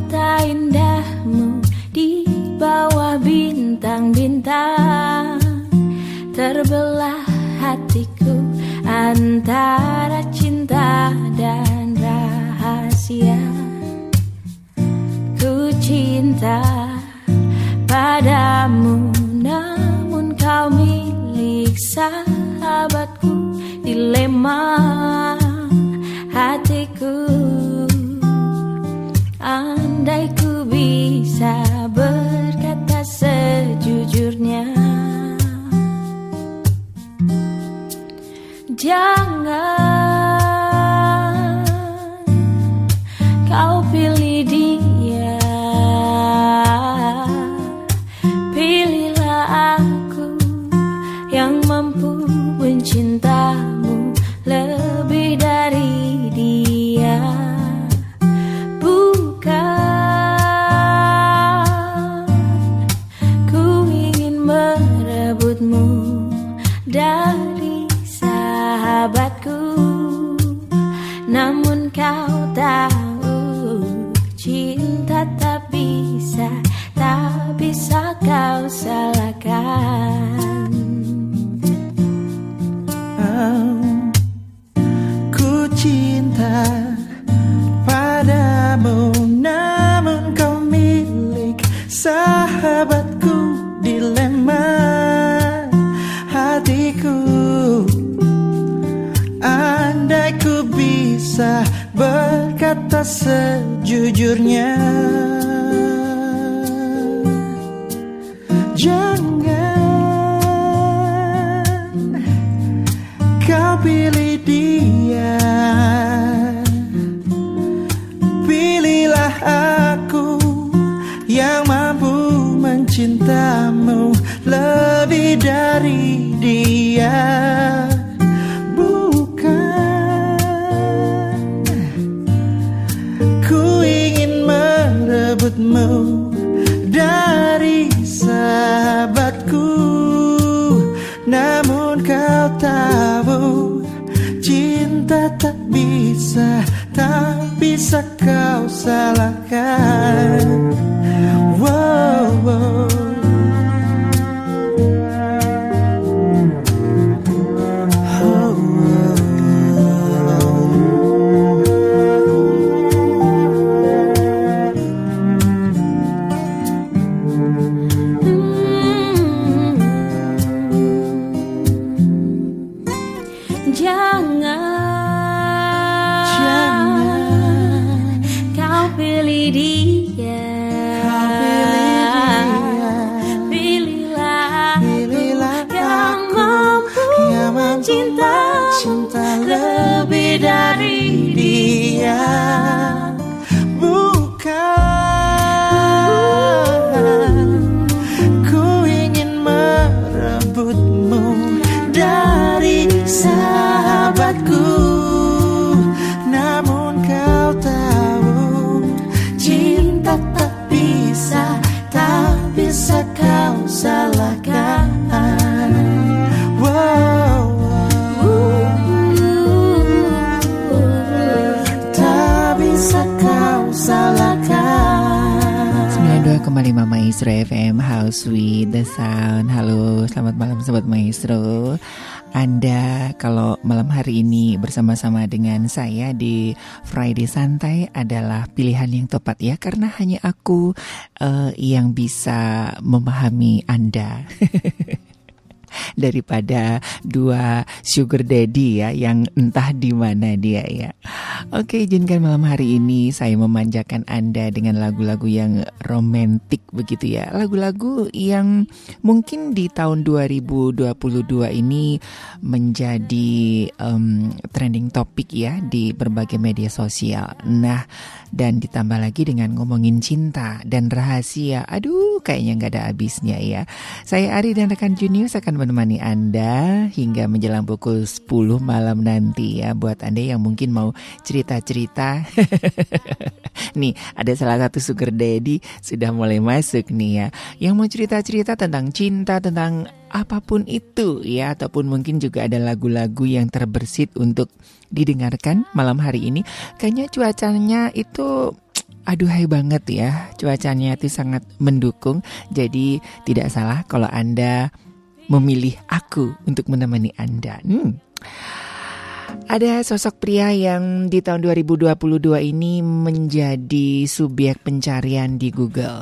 mata indahmu di bawah bintang-bintang, terbelah hatiku antara cinta dan rahasia. Ku cinta padamu, namun kau milik sahabatku. Dilema hatiku, andai ku bisa berkata sejujurnya. Jangan kau pilih dia, pilihlah aku yang mampu mencintamu lebih dari dia. Bukan ku ingin merebutmu dari sahabatku, namun kau tahu cinta tak bisa kau salahkan. Ku cinta padamu, namun kau milik sahabatku. Dilema hatiku, andai ku bisa berkata sejujurnya. Jangan kau pilih dia, pilihlah aku yang mampu mencintamu lebih dari dia. Bukan ku ingin merebutmu dari sahabatku, namun kau tahu cinta tak bisa kau salahkan. Wow, wow. Cinta lebih dari dia. Bukan ku ingin merebutmu dari sahabatku, namun kau tahu cinta tak bisa kau salahkan. Wow. 92,5 Maestro FM, House with the Sound. Halo, selamat malam Sobat Maestro. Anda kalau malam hari ini bersama-sama dengan saya di Friday Santai adalah pilihan yang tepat ya, karena hanya aku yang bisa memahami Anda. Daripada dua sugar daddy ya yang entah di mana dia ya. Oke, izinkan malam hari ini saya memanjakan Anda dengan lagu-lagu yang romantik begitu ya. Lagu-lagu yang mungkin di tahun 2022 ini menjadi trending topik ya di berbagai media sosial. Nah, dan ditambah lagi dengan ngomongin cinta dan rahasia. Aduh, kayaknya gak ada habisnya ya. Saya Ari dan rekan Junius akan menemani Anda hingga menjelang pukul 10 malam nanti ya. Buat Anda yang mungkin mau cerita-cerita. Nih, ada salah satu sugar daddy sudah mulai masuk nih ya. Yang mau cerita-cerita tentang cinta, tentang apapun itu ya. Ataupun mungkin juga ada lagu-lagu yang terbersit untuk didengarkan malam hari ini. Kayaknya cuacanya itu aduhai banget ya, cuacanya itu sangat mendukung. Jadi tidak salah kalau Anda memilih aku untuk menemani Anda. Ada sosok pria yang di tahun 2022 ini menjadi subjek pencarian di Google.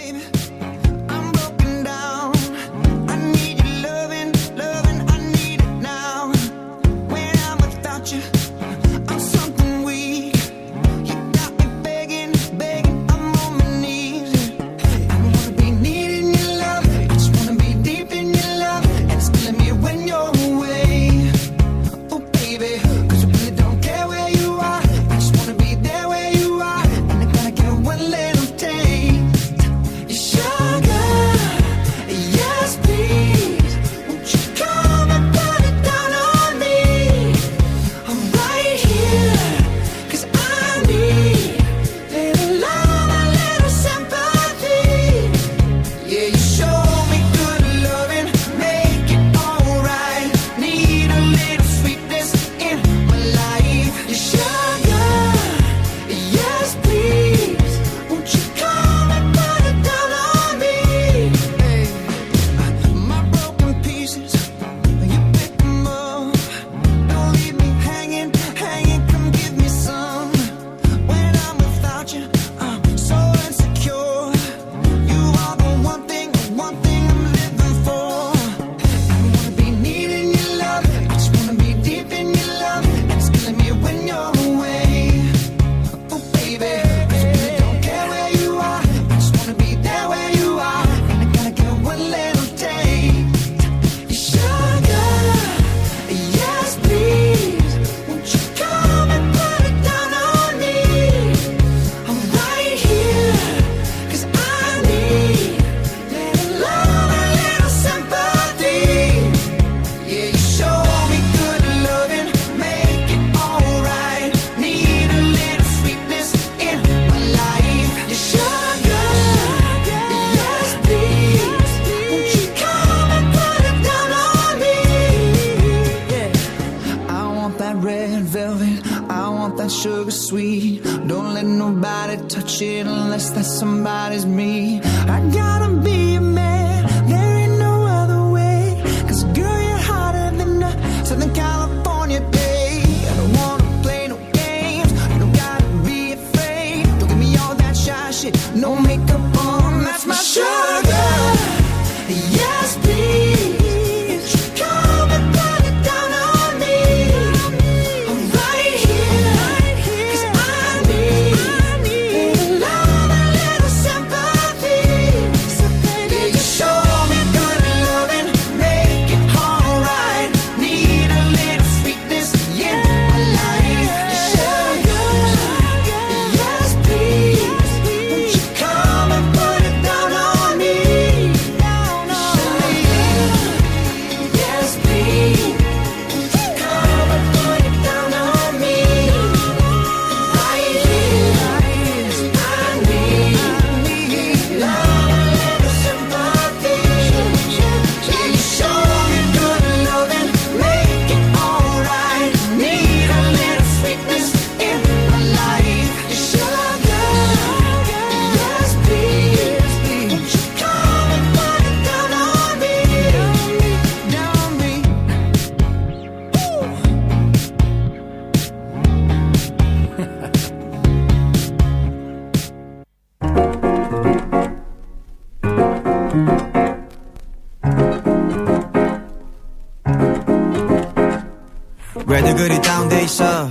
왜들 그리 다운돼 있어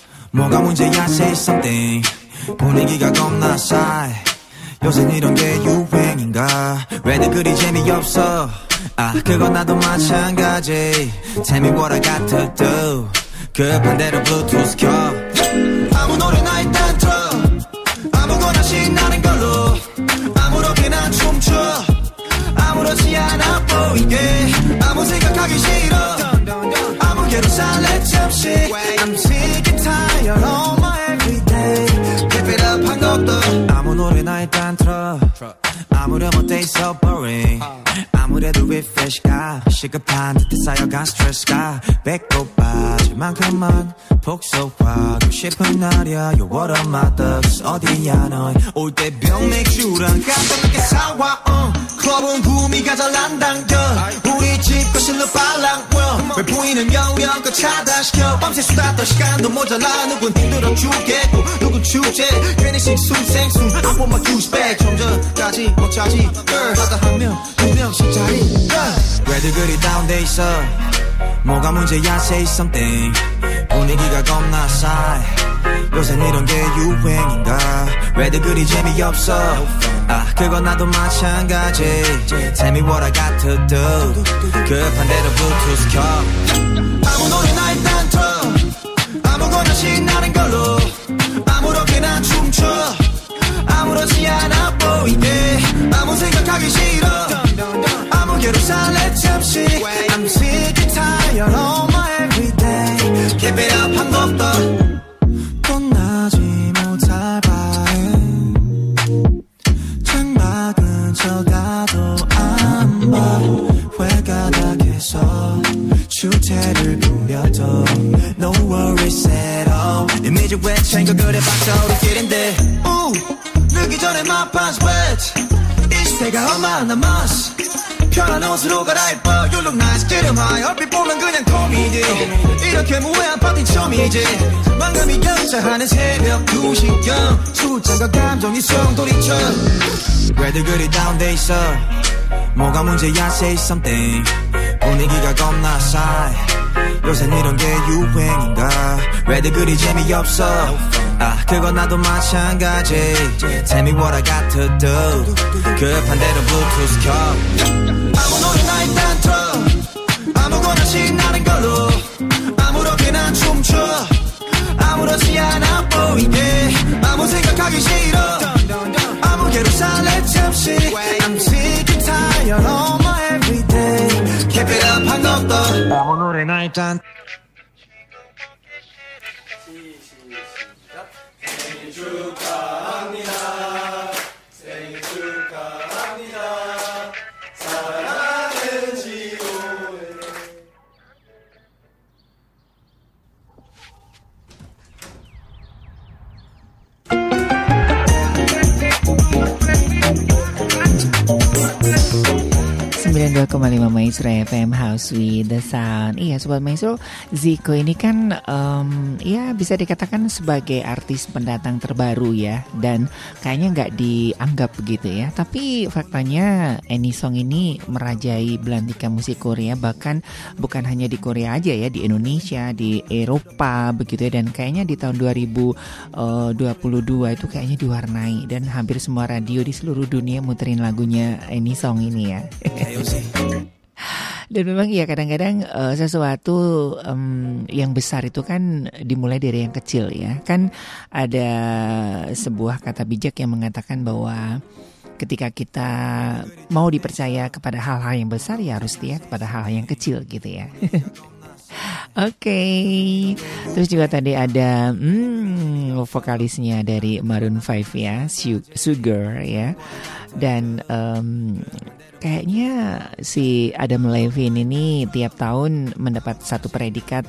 뭐가 문제야 say something 분위기가 겁나 싸해 요새 이런 게 유행인가 왜들 그리 재미없어 아 그건 나도 마찬가지 Tell me what I got to do 급한 대로 블루투스 켜 아무 노래나 일단 틀어 아무거나 신나는 걸로 아무렇게나 춤춰 아무렇지 않아 보이게 아무 생각하기 싫어 아무개로 살래 잠시 I'm sick and tired all my everyday Keep it up 한 것도 아무 노래나 나의 단트럭 아무렴 어때 so boring 아무래도 refresh가 시급한 듯해 쌓여간 스트레스가 배꼽 빠질 만큼만 복속하고 싶은 날이야 Yo what up my thugs 어디야 넌 올 때 병맥주랑 깜짝놀게 사와 클럽은 구미가 잘 안 당겨 우리 집 거실로 빨랑 왜 보이는 영역껏 차단시켜 밤새 수다 떨 시간도 모자라 누군 힘들어 죽겠고 누군 축제 괜히 식숨생숨 I want my juice back 좀 전까지 못 차지 girl 하다 한 명 두 명씩 자리 왜들 그리 다운돼 있어 뭐가 문제야 say something 분위기가 겁나 싸해 요새 이런 게 유행인가 왜들 그리 재미없어 그건 나도 마찬가지 Tell me what I got to do 급한 대로 블루투스 켜 아무 노래나 일단 틀어 아무거나 신나는 걸로 아무렇게나 춤춰 아무렇지 않아 보이게 아무 생각하기 싫어 아무 괴로 살래 잠시 I'm sick and tired of my everyday Keep it up 한 번 더 떠나지 못할 바에 창밖은 쳐다도 안 봐 회가닥에서 주태를 부려도 No worries at all 이미지 왜 챙겨 그래 박사 우리끼린데 늦기 전에 my pants wet 이 시대가 얼마나 남았어 편한 옷으로 갈아입어 You look nice 기름하여 얼핏 보면 그냥 코미디 이렇게 무해한 파티 처음이지 망감이 연차하는 새벽 2시경 술잔과 감정이 성돌이쳐 왜들 그리 다운돼 있어 뭐가 문제야 say something 분위기가 겁나 싸해 요새 이런 게 유행인가 왜들 그리 재미없어 그건 나도 마찬가지 Tell me what I got to do 급한 대로 블루투스 켜 아무 노래나 일단 틀어 아무거나 신나는 걸로 아무렇게나 춤춰 아무렇지 않아 보이게 아무 생각하기 싫어 아무 괴로 살래 잠시 I'm sick and tired of my everyday Keep it up 한 번 더 아무 노래나 일단 생일 축하합니다 생일 축하합니다 사랑하는 지호의 Maestro FM House with the Sound. Iya Sobat Maestro, Zico ini kan ya bisa dikatakan sebagai artis pendatang terbaru ya. Dan kayaknya nggak dianggap begitu ya. Tapi faktanya Any Song ini merajai belantika musik Korea. Bahkan bukan hanya di Korea aja ya, di Indonesia, di Eropa begitu ya. Dan kayaknya di tahun 2022 itu kayaknya diwarnai. Dan hampir semua radio di seluruh dunia muterin lagunya Any Song ini ya. Dan memang ya kadang-kadang sesuatu yang besar itu kan dimulai dari yang kecil ya. Kan ada sebuah kata bijak yang mengatakan bahwa ketika kita mau dipercaya kepada hal-hal yang besar ya harus setia kepada hal yang kecil gitu ya. Oke. Terus juga tadi ada vokalisnya dari Maroon 5 ya, Sugar ya. Dan kayaknya si Adam Levine ini tiap tahun mendapat satu predikat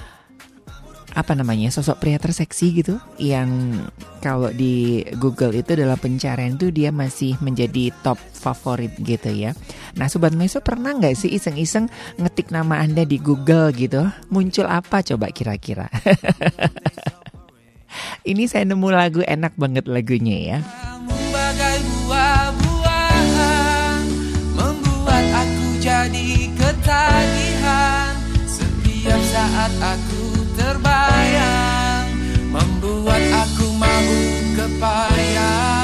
sosok pria terseksi gitu, yang kalau di Google itu dalam pencarian itu dia masih menjadi top favorit gitu ya. Nah Sobat Meso, pernah nggak sih iseng-iseng ngetik nama Anda di Google gitu, muncul apa coba kira-kira? Ini saya nemu lagu enak banget lagunya ya. Bagai buah-buahan membuat aku jadi ketagihan. Setiap saat aku terbayang, membuat aku mabuk kepayang.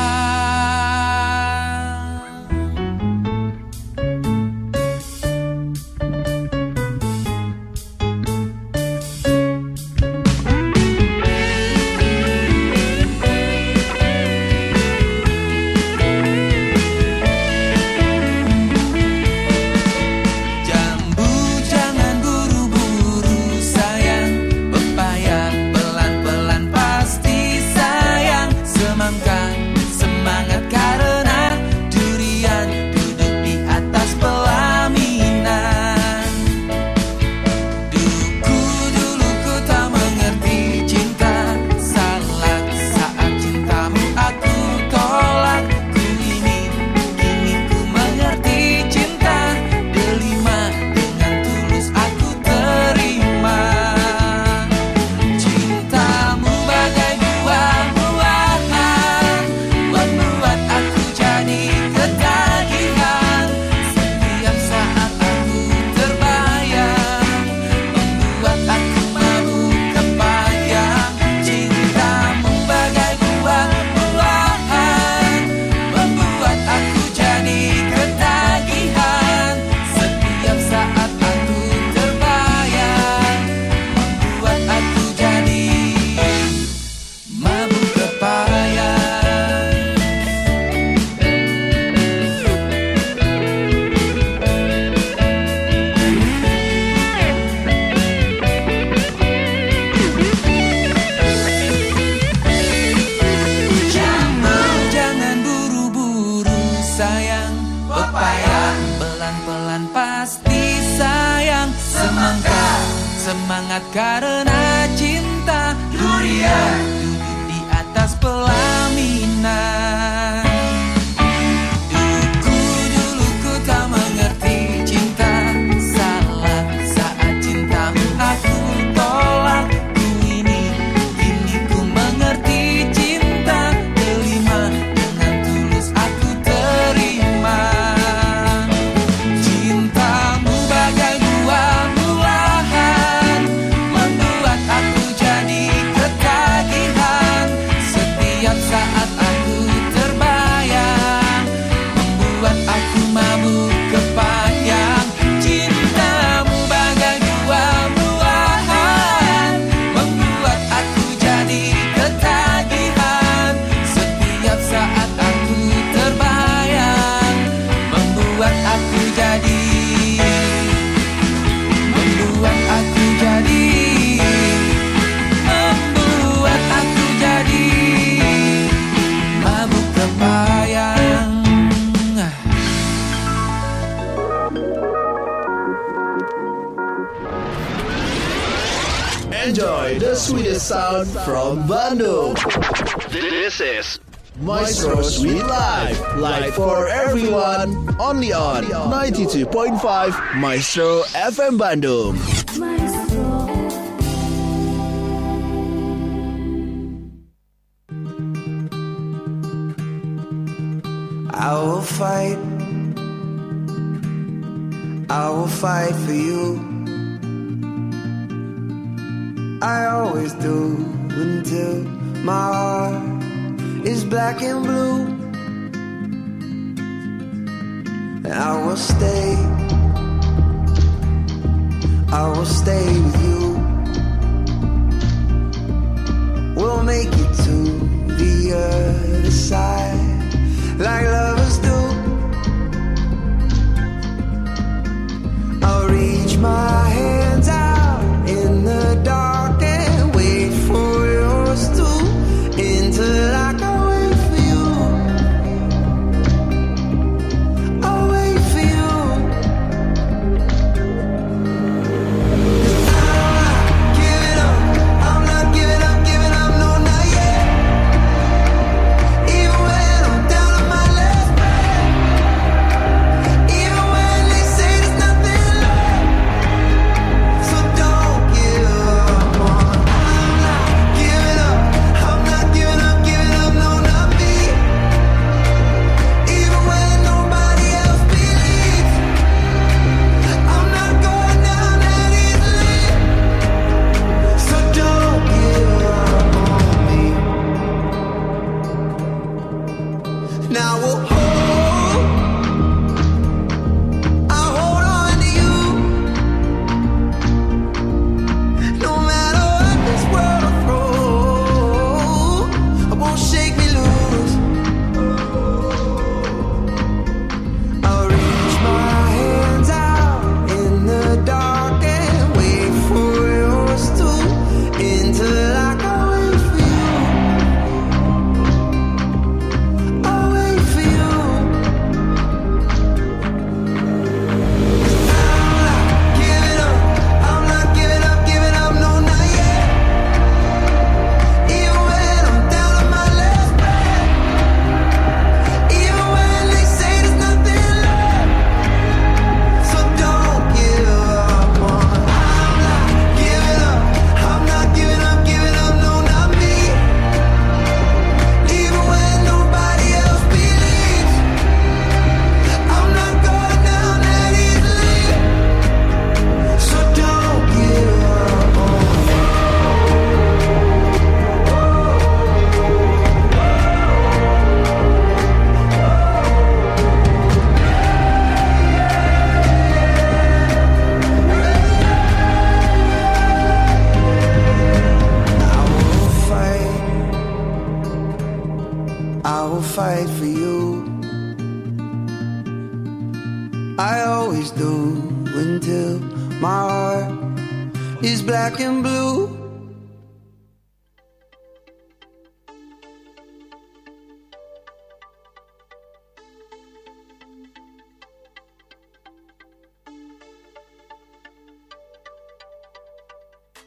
hangat karena cinta. Durian duduk di atas pelaminan. Dulu ku tak mengerti cinta, salah saat cintamu aku tolak. Kini ku mengerti cinta, terima dengan tulus aku terima. Cintamu bagai buah-buahan, membuat aku jadi ketagihan. Setiap saat aku terbayang, membuat aku mabuk kepayang. Cintamu bagai buah-buahan, membuat aku jadi ketagihan. Setiap saat aku terbayang, membuat aku jadi membuat aku jadi mabuk kepayang. Enjoy the sweetest sound from Bandung. This is Maestro Sweet Life. Live for everyone. Only on 92.5 Maestro FM Bandung. I will fight for you. I always do until my heart is black and blue. And I will stay with you. We'll make it to the other side like lovers do. I'll reach my hands out in the dark and wait for yours to, until I can wait for you. I'll wait for you. 'Cause I'm not giving up, no, not yet. Even when I'm down on my last breath, even when they say there's nothing left. So don't give up on. I'm not giving up, no, not me. Even when nobody else believes, I'm not going down that easily. So don't give up on me. Now I'll hold on to you. No matter what this world throws, it won't shake me loose. I'll reach my hands out in the dark and wait for yours to, until I can wait for you. I'll wait for you. I'm not giving up, no, not yet. Even when I'm down on my last breath, even when they say there's nothing left. So don't give up on. I'm not giving up, no, not me. Even when nobody else believes, I'm not going down that easily. So don't give up on me. I will fight for you. I always do until my heart is black and blue.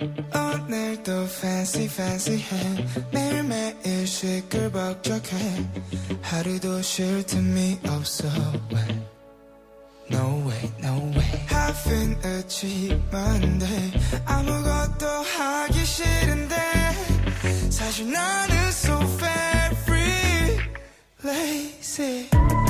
오늘도 fancy해 매일매일 시끌벅적해 하루도 쉴 틈이 없어 No way Having achieved Monday 아무것도 하기 싫은데 사실 나는 so very lazy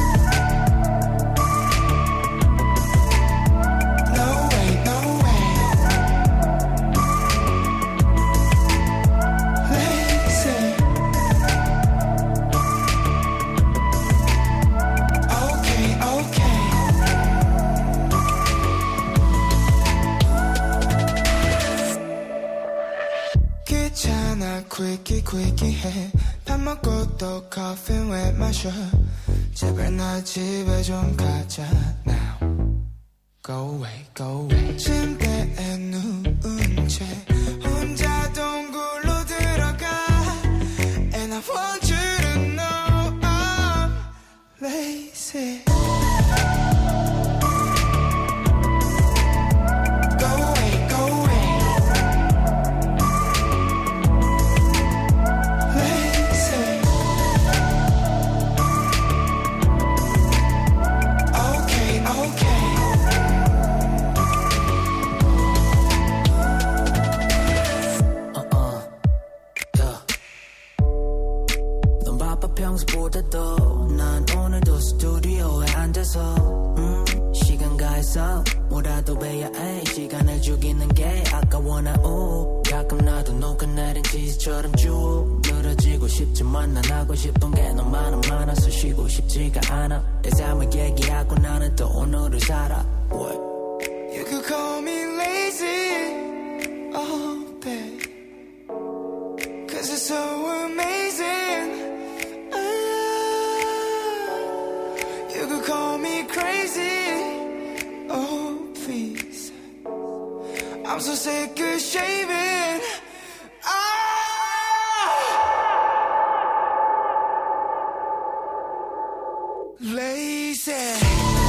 quickie 해 밥 먹고 또 커피 왜 마셔 제발 나 집에 좀 가자 now Go away 침대에 누운 채 혼자 동굴로 들어가 And I want you to know I'm lazy 평소보다도 난 오늘도 스튜디오에 앉아서 시간 가해서 뭐라도 해야 해 시간을 죽이는 게 아까워 나 가끔 나도 녹아 내린 치즈처럼 쭉 늘어지고 싶지만 난 하고 싶은 게 너무 많아서 쉬고 싶지가 않아 내 삶을 얘기하고 나는 또 오늘을 살아 What? You could call me lazy all day Cause it's so amazing You could call me crazy, oh please I'm so sick of shaving Lazy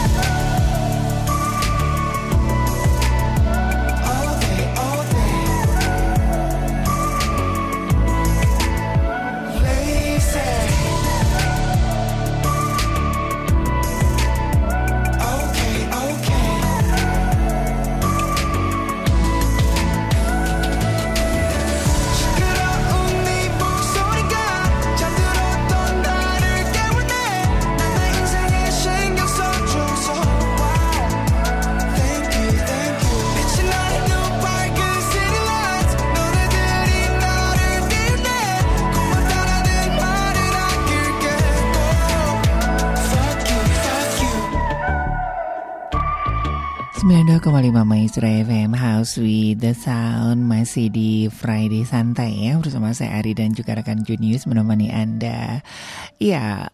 Maestro FM House with the Sound masih di Friday Santai ya bersama saya Ari dan juga rekan Junius menemani Anda. Ya,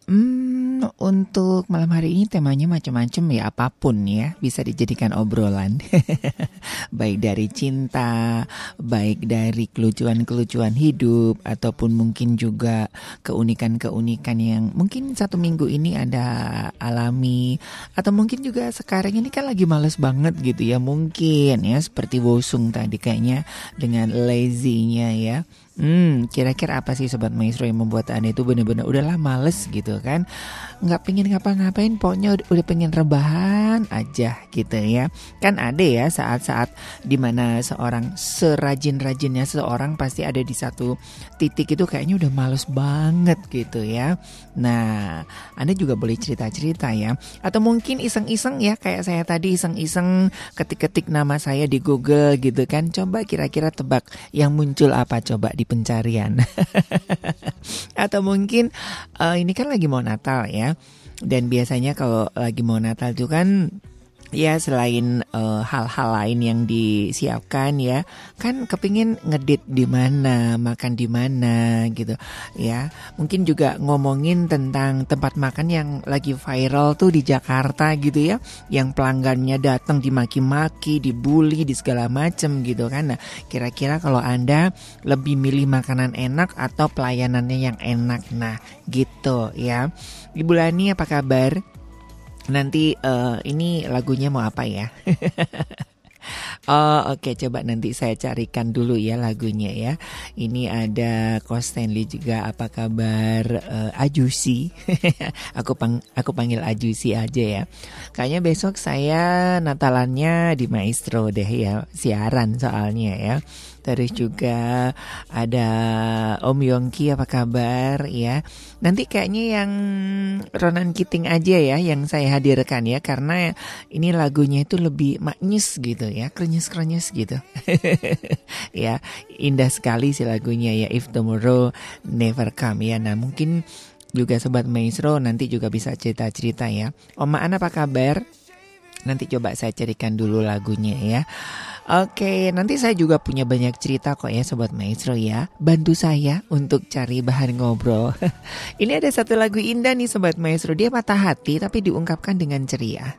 untuk malam hari ini temanya macam-macam ya apapun ya bisa dijadikan obrolan. Baik dari cinta, baik dari kelucuan-kelucuan hidup ataupun mungkin juga keunikan-keunikan yang mungkin satu minggu ini ada alami atau mungkin juga sekarang ini kan lagi males banget gitu ya mungkin ya seperti Wosung tadi kayaknya dengan lazy-nya ya. Kira-kira apa sih Sobat Maestro yang membuat Anda itu benar-benar udahlah males gitu kan, nggak pengen ngapa-ngapain, pokoknya udah pengen rebahan aja gitu ya. Kan ada ya saat-saat dimana seorang serajin-rajinnya seseorang pasti ada di satu titik itu kayaknya udah males banget gitu ya. Nah, Anda juga boleh cerita-cerita ya, atau mungkin iseng-iseng ya kayak saya tadi iseng-iseng ketik-ketik nama saya di Google gitu kan, coba kira-kira tebak yang muncul apa coba di pencarian. Atau mungkin ini kan lagi mau Natal ya, dan biasanya kalau lagi mau Natal itu kan ya selain hal-hal lain yang disiapkan ya, kan kepingin ngedit di mana, makan di mana gitu ya. Mungkin juga ngomongin tentang tempat makan yang lagi viral tuh di Jakarta gitu ya, yang pelanggannya datang dimaki-maki, dibully, di segala macem gitu kan. Nah, kira-kira kalau Anda lebih milih makanan enak atau pelayanannya yang enak? Nah, gitu ya. Ibu Lani apa kabar? Nanti ini lagunya mau apa ya? Oh oke, coba nanti saya carikan dulu ya lagunya ya. Ini ada Coach Stanley juga, apa kabar Ajusi? aku panggil Ajusi aja ya. Kayaknya besok saya Natalannya di Maestro deh ya, siaran soalnya ya. Terus juga ada Om Yongki, apa kabar ya. Nanti kayaknya yang Ronan Keating aja ya yang saya hadirkan ya, karena ini lagunya itu lebih maknyus gitu ya, krenyes-krenyes gitu. Ya, indah sekali sih lagunya ya, If Tomorrow Never Come ya. Nah mungkin juga Sobat Maestro nanti juga bisa cerita-cerita ya. Om Maan apa kabar? Nanti coba saya carikan dulu lagunya ya. Oke, nanti saya juga punya banyak cerita kok ya Sobat Maestro ya. Bantu saya untuk cari bahan ngobrol. Ini ada satu lagu indah nih Sobat Maestro. Dia patah hati tapi diungkapkan dengan ceria.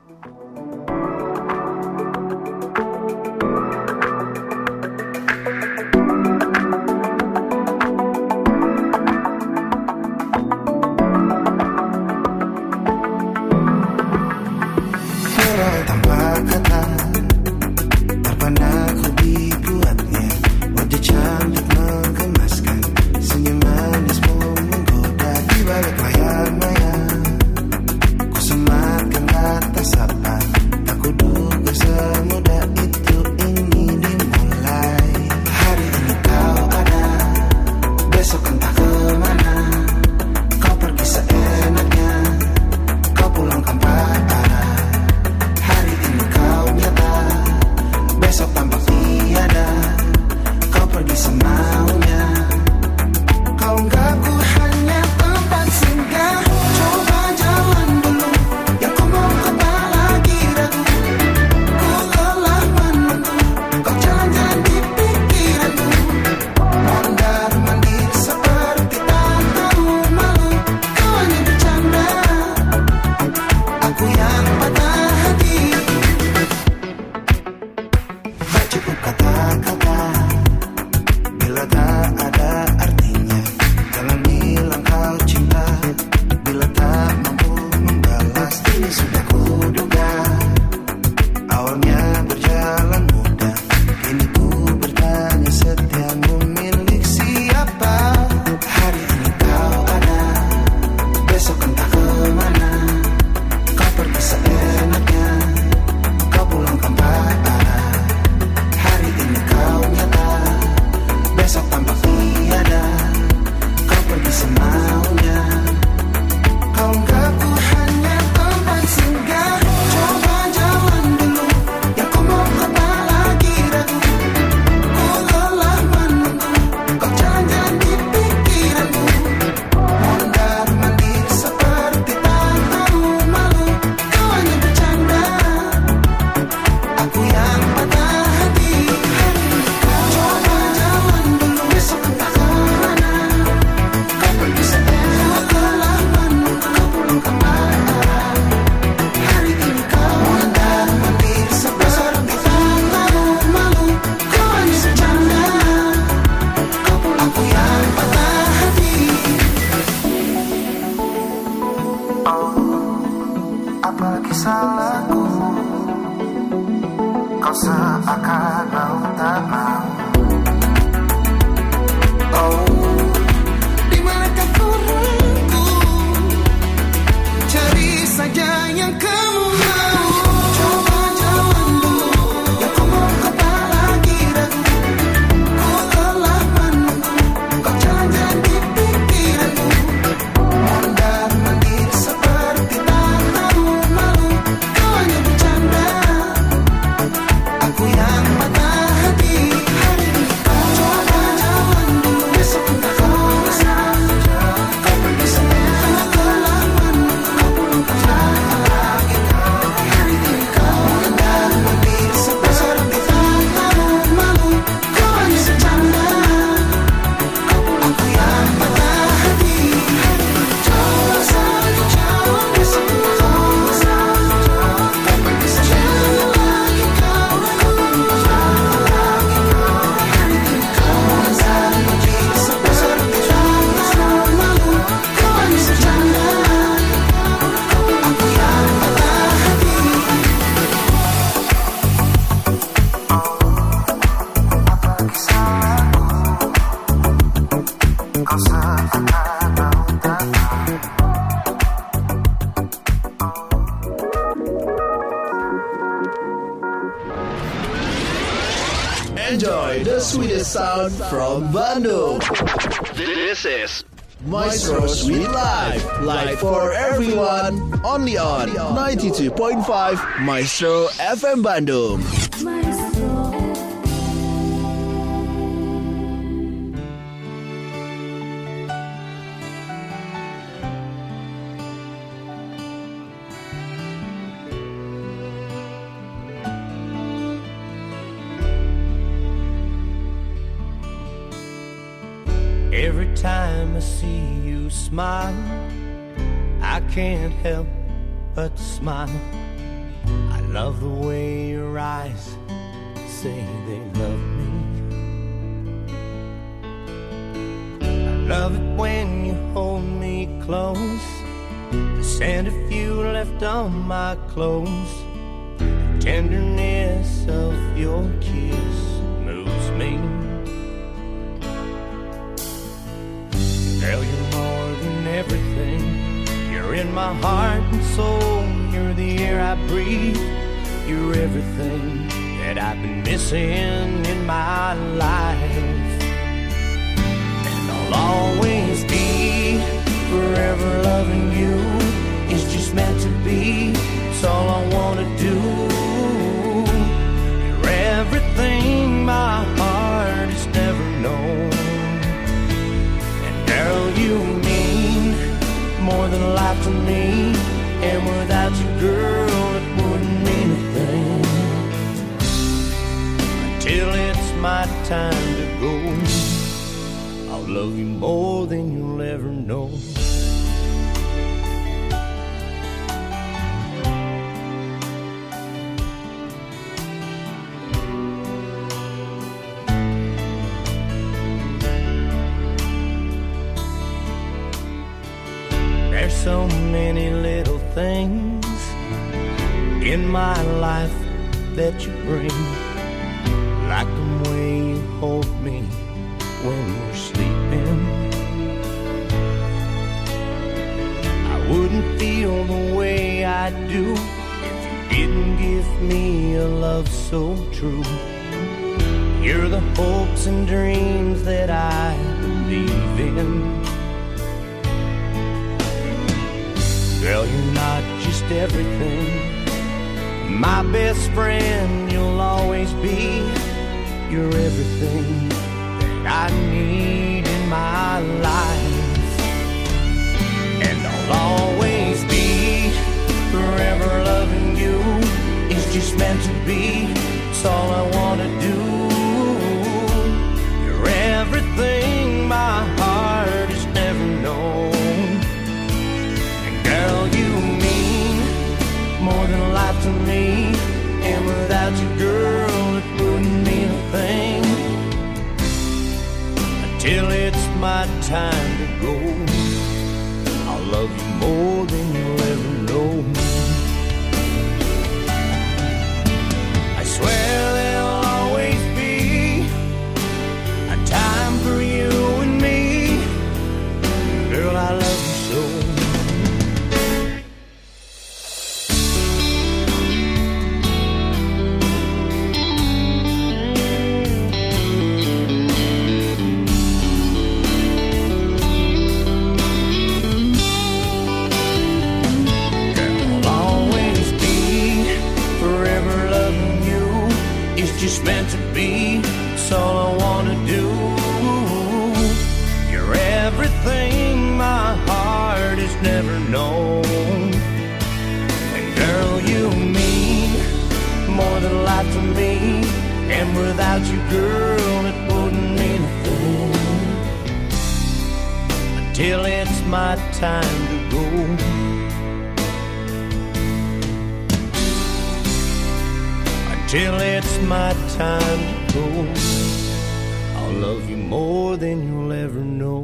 Aku yang patah hati. Enjoy the sweetest sound from Bandung. This is Maestro Sweet Life. Live for everyone. Only on 92.5 Maestro FM Bandung. Every time I see you smile, I can't help but smile. I love the way your eyes say they love me. I love it when you hold me close. The scent of you left on my clothes. The tenderness of your kiss moves me. Girl, you're more than everything. You're in my heart and soul. You're the air I breathe. You're everything that I've been missing in my life. And I'll always be forever loving you. It's just meant to be. It's all I wanna do. You're everything my heart has never known. Girl, you mean more than life to me. And without you, girl, it wouldn't mean a thing. Until it's my time to go, I'll love you more than you'll ever know. So many little things in my life that you bring, like the way you hold me when we're sleeping. I wouldn't feel the way I do if you didn't give me a love so true. You're the hopes and dreams that I believe in. Girl, you're not just everything. My best friend, you'll always be. You're everything that I need in my life. And I'll always be forever loving you. It's just meant to be. It's all I wanna do. You're everything my heart has never known. Girl, you mean more than life to me. And without you, girl, it wouldn't mean a thing. Until it's my time to go, I'll love you more than you'll ever know. I swear there'll always be a time for you and me. Girl, I love you so. Just meant to be, it's all I wanna do. You're everything my heart has never known. And girl, you mean more than life to me. And without you, girl, it wouldn't mean a thing. Until it's my time to go, till it's my time to go, I'll love you more than you'll ever know.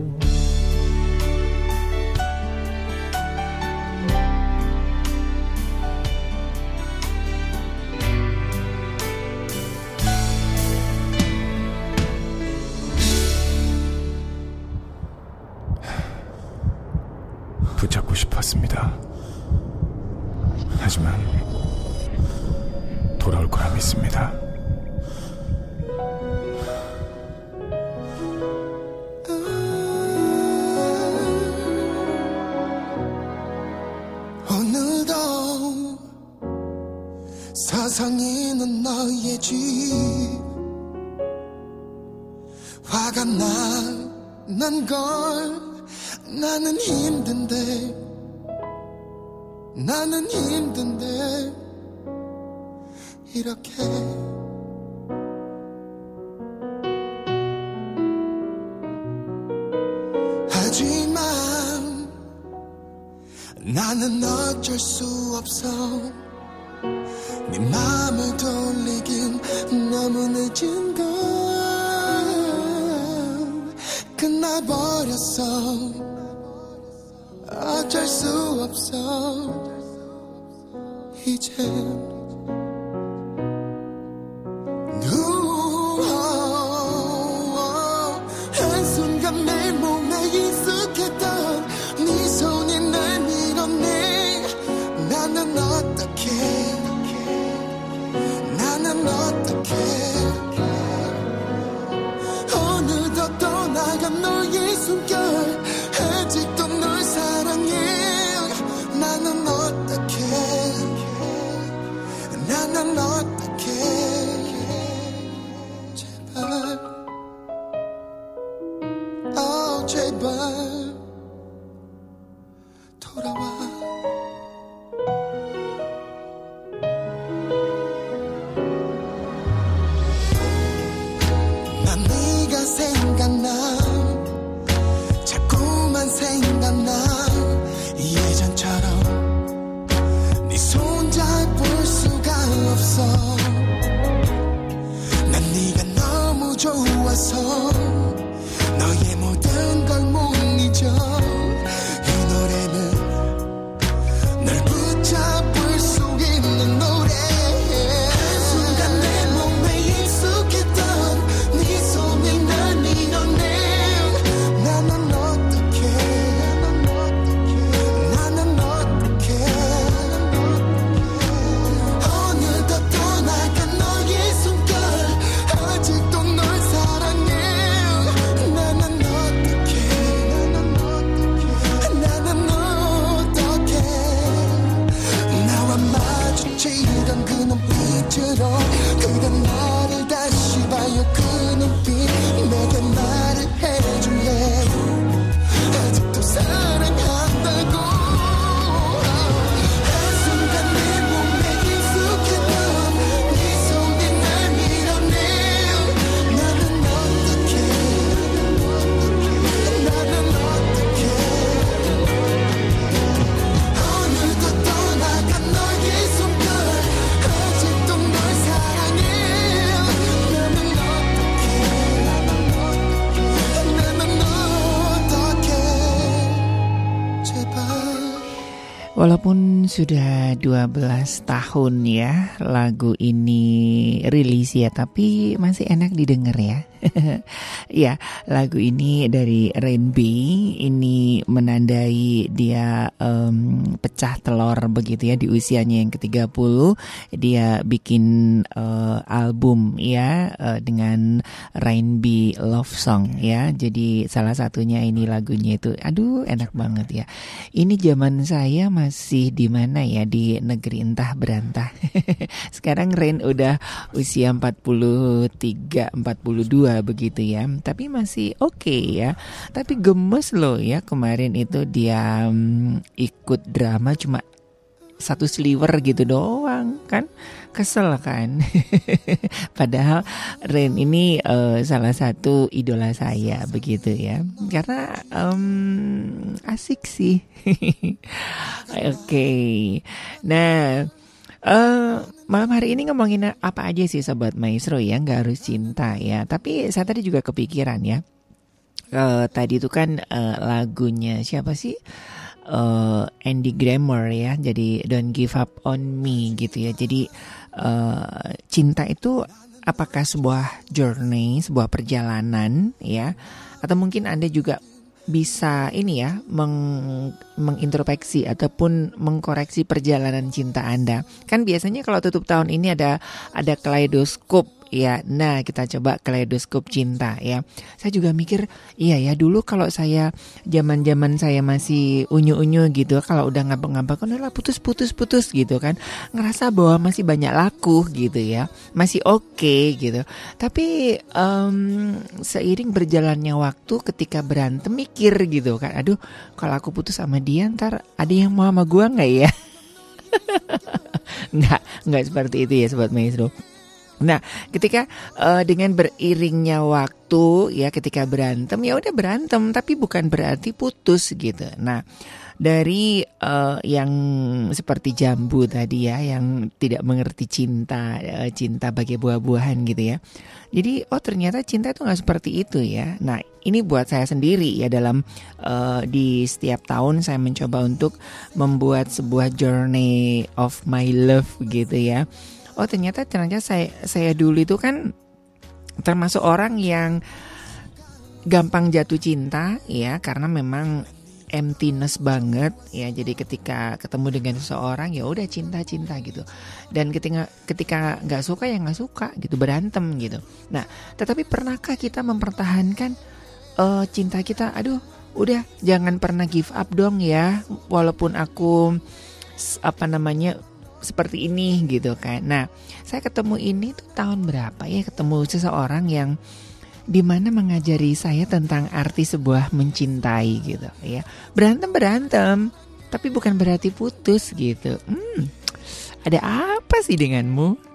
붙잡고 싶었습니다. 하지만 돌아올 거라 믿습니다. 어느덧 서성이는 너의 집 화가 나는 걸 나는 힘든데 이렇게 하지만 나는 어쩔 수 없어 네 맘을 돌리긴 너무 늦은 걸 끝나버렸어 어쩔 수 없어 이젠 한순간 내 몸에 익숙했던 네 손이 날 밀어내 나는 어떡해 어느덧 떠나간 너의 숨결 아직도 널 사랑해 나는 어떡해 제발 돌아와 난 네가 생각나 자꾸만 생각나 예전처럼 네 손 잡을 수가 없어 난 네가 너무 좋아서 너의 모든 걸 못 잊어 이 노래는 널 붙잡을 수 있는 노래 한순간 내 몸에 익숙했던 네 손이 날 밀어내 나는 어떡해 어느덧 떠나간 너의 숨결 아직도 널 사랑해 나는 어떡해 나와 마주치던 그 눈빛으로 그런 나를 다시 봐요 그 눈빛 내게 말을 해줄래 아직도 사랑한다고 한순간 내 몸에 익숙했던 네 손이 날 밀어내 나는 어떡해 어느덧 떠나간 너의 숨결 아직도 널 사랑해 나는 어떡해 제발 Walaupun sudah 12 tahun ya lagu ini rilis ya, tapi masih enak didengar ya. Ya, lagu ini dari Rain B, ini menandai dia pecah telur begitu ya di usianya yang ke-30. Dia bikin album ya dengan Rain B Love Song ya. Jadi salah satunya ini lagunya itu, aduh enak banget ya. Ini zaman saya masih di mana ya, di negeri entah berantah. Sekarang Rain udah usia 43, 42 begitu ya. Tapi masih oke ya. Tapi gemes loh ya, kemarin itu dia ikut drama cuma satu sliver gitu doang kan. Kesel kan. Padahal Rain ini salah satu idola saya begitu ya. Karena asik sih. Oke. Nah, malam hari ini ngomongin apa aja sih Sobat Maestro ya, nggak harus cinta ya. Tapi saya tadi juga kepikiran ya, tadi itu kan lagunya siapa sih, Andy Grammer ya, jadi Don't Give Up On Me gitu ya. Jadi cinta itu apakah sebuah journey, sebuah perjalanan ya, atau mungkin Anda juga bisa ini ya mengintrospeksi ataupun mengkoreksi perjalanan cinta Anda. Kan biasanya kalau tutup tahun ini ada kaleidoskop ya. Nah, kita coba kaleidoskop cinta ya. Saya juga mikir, iya ya, dulu kalau saya zaman-zaman saya masih unyu-unyu gitu, kalau udah ngambek-ngambek kan udah putus gitu kan. Ngerasa bahwa masih banyak laku gitu ya. Masih oke gitu. Tapi seiring berjalannya waktu ketika berantem mikir gitu kan. Aduh, kalau aku putus sama dia ntar ada yang mau sama gua enggak ya? Enggak seperti itu ya Sobat Maestro. Nah, ketika dengan beriringnya waktu ya, ketika berantem ya udah berantem, tapi bukan berarti putus gitu. Nah, dari yang seperti jambu tadi ya, yang tidak mengerti cinta, cinta bagai buah-buahan gitu ya. Jadi ternyata cinta itu nggak seperti itu ya. Nah, ini buat saya sendiri ya, dalam di setiap tahun saya mencoba untuk membuat sebuah journey of my love gitu ya. Ternyata saya dulu itu kan termasuk orang yang gampang jatuh cinta ya, karena memang emptiness banget ya. Jadi ketika ketemu dengan seseorang ya udah cinta gitu. Dan ketika nggak suka ya nggak suka gitu, berantem gitu. Nah, tetapi pernahkah kita mempertahankan cinta kita? Aduh, udah jangan pernah give up dong ya, walaupun aku seperti ini gitu kan. Nah, saya ketemu ini tuh tahun berapa ya, ketemu seseorang yang dimana mengajari saya tentang arti sebuah mencintai gitu ya. Berantem, tapi bukan berarti putus gitu. Ada apa sih denganmu?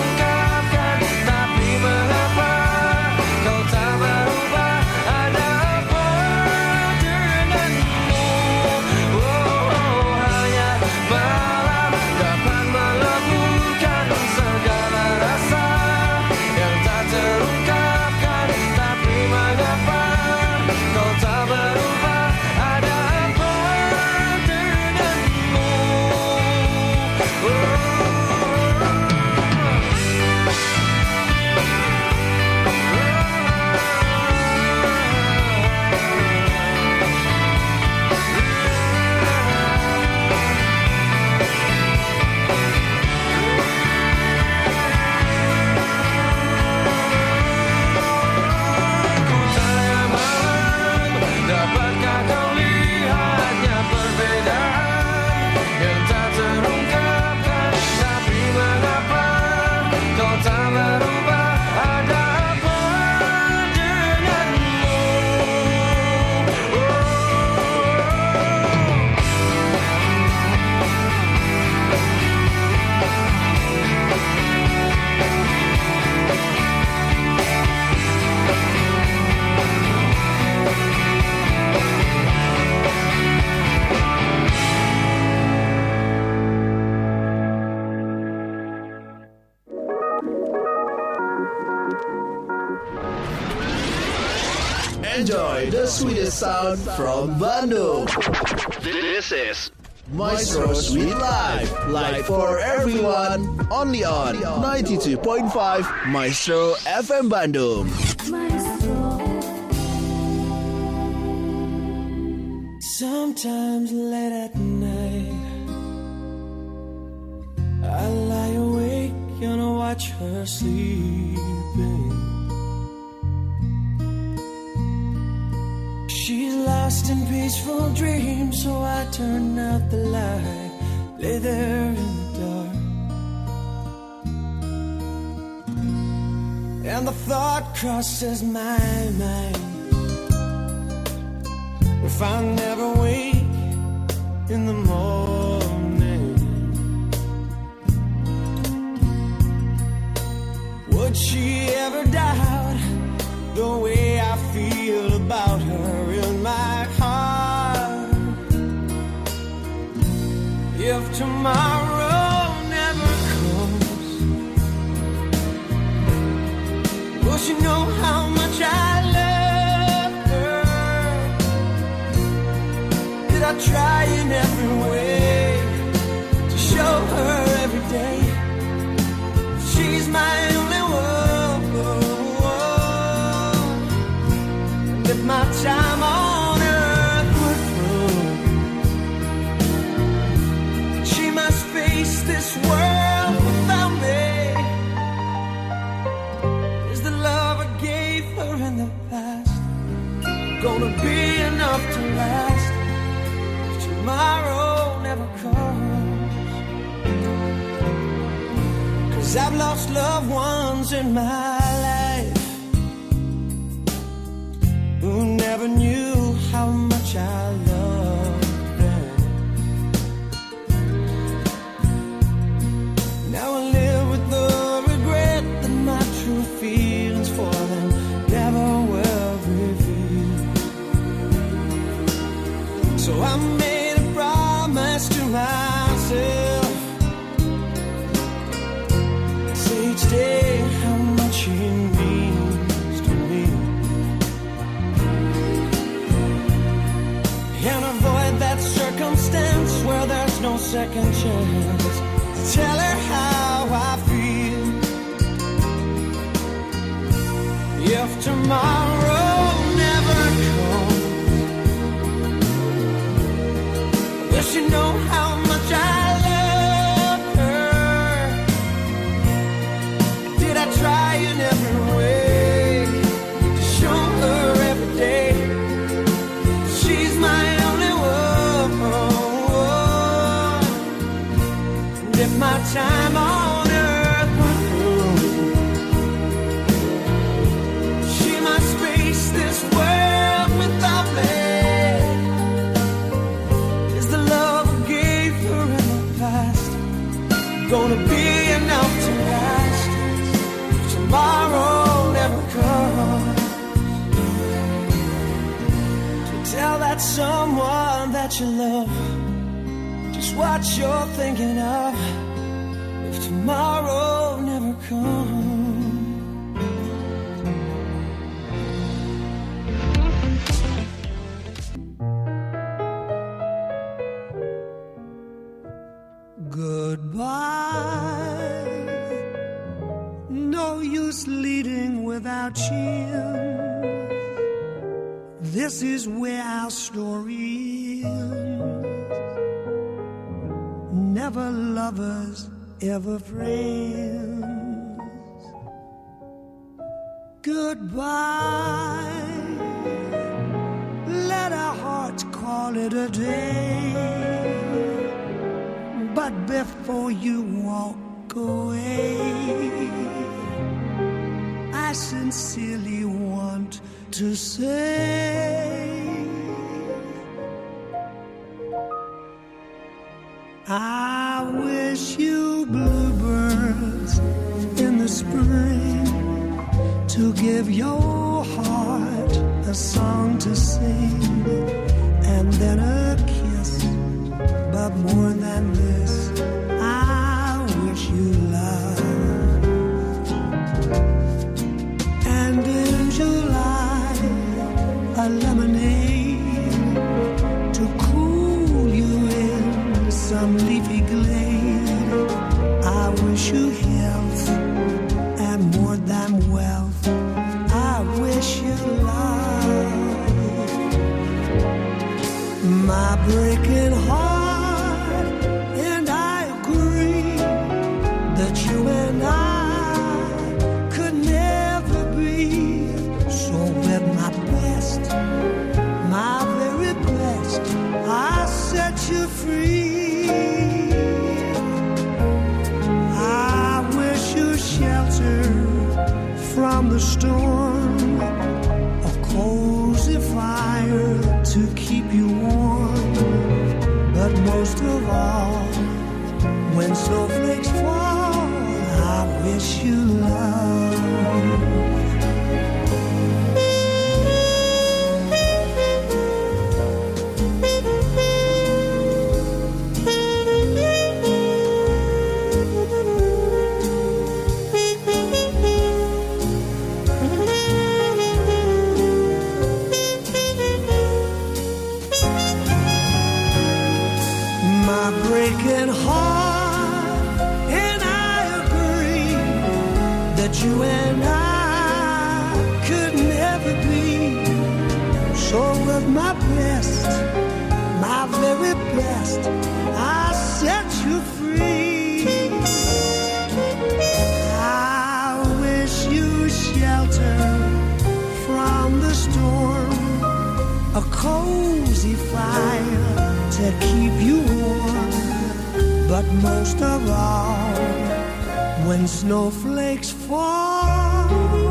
Ada Enjoy the sweetest sound from Bandung. This is Maestro Sweet Life. Live for everyone. Only on 92.5 Maestro FM Bandung. Sometimes late at night I lie awake and I watch her sleeping. She's lost in peaceful dreams, so I turn out the light, lay there in the dark. And the thought crosses my mind, if I never wake in the morning, would she ever doubt the way I feel about her in my heart? If tomorrow never comes, will she know how much I love her? Did I try in every way to show her every day she's my only one? And if my time on earth were through, she must face this world without me. Is the love I gave her in the past gonna be enough to last if tomorrow never comes? 'Cause I've lost loved ones in my life who never knew how much I loved them. Now I live with the regret that my true feelings for them never were revealed. So I made a promise to myself, say each day how much he means to me, and avoid that circumstance where there's no second chance. Tell her how I feel. If tomorrow never comes, will she know how much I love her? Did I try in every way to show her every day she's my only one? And if my time on earth were through, she must face this world without me. Is the love I gave her in the past gonna be enough to last if tomorrow never comes? To tell that someone that you love just what you're thinking of if tomorrow never comes. Goodbye, no use leading without cheer. This is where our story ends. Never lovers, ever friends. Goodbye, let our hearts call it a day. But before you walk away, I sincerely want to say I wish you bluebirds in the spring to give your heart a song to sing, and then a kiss. But more than this, I wish you love. And in July, wish you love. My breaking heart, and I agree that you and I could never be. So with my best, my very best, I set you free. I wish you shelter from the storm, a cozy fire to keep you warm. But most of all, when snowflakes fall, I wish you love. My breaking heart, and I agree that you and I could never be. So with my best, my very best, I set you free. I wish you shelter from the storm, a cozy fire to keep you warm. But most of all, when snowflakes fall,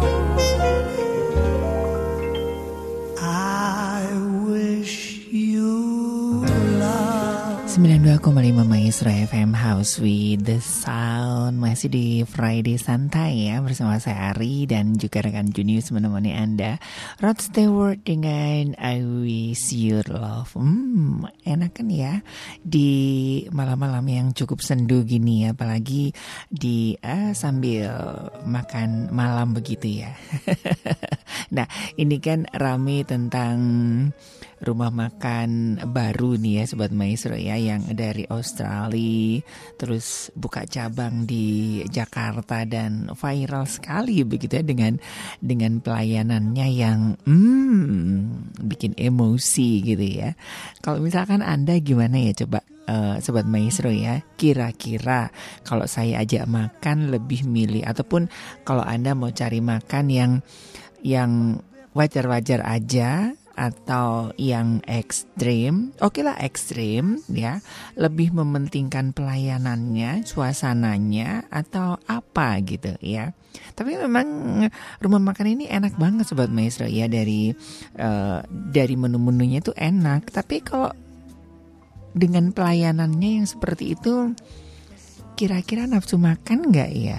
I wish you love. 92,5 Maestro FM House with the Sound. Masih di Friday Santai ya, bersama saya Ari dan juga rekan Junius menemani Anda. Rod Stewart dengan I Wish You Love. Enak kan ya di malam-malam yang cukup sendu gini ya, apalagi di sambil makan malam begitu ya. Nah, ini kan rame tentang rumah makan baru nih ya Sobat Maestro ya, yang dari Australia terus buka cabang di Jakarta dan viral sekali begitu ya, dengan pelayanannya yang bikin emosi gitu ya. Kalau misalkan Anda gimana ya coba Sobat Maestro ya, kira-kira kalau saya ajak makan lebih milih, ataupun kalau Anda mau cari makan yang wajar-wajar aja atau yang ekstrim, oke lah ekstrim ya, lebih mementingkan pelayanannya, suasananya, atau apa gitu ya. Tapi memang rumah makan ini enak banget Sobat Maestro ya, dari menu-menunya itu enak. Tapi kalau dengan pelayanannya yang seperti itu, kira-kira nafsu makan nggak ya?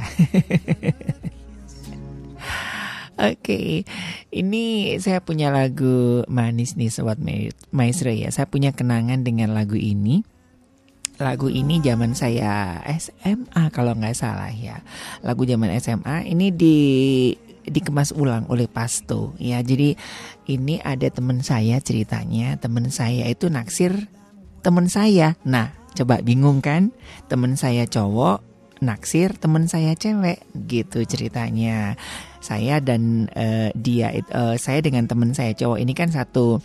Oke, ini saya punya lagu manis nih Sobat Maestro ya. Saya punya kenangan dengan lagu ini. Lagu ini zaman saya SMA kalau nggak salah ya. Lagu zaman SMA ini dikemas ulang oleh Pasto ya. Jadi ini ada teman saya ceritanya. Teman saya itu naksir teman saya. Nah, coba bingung kan? Teman saya cowok naksir teman saya cewek gitu ceritanya. Saya dan saya dengan teman saya cowok ini kan satu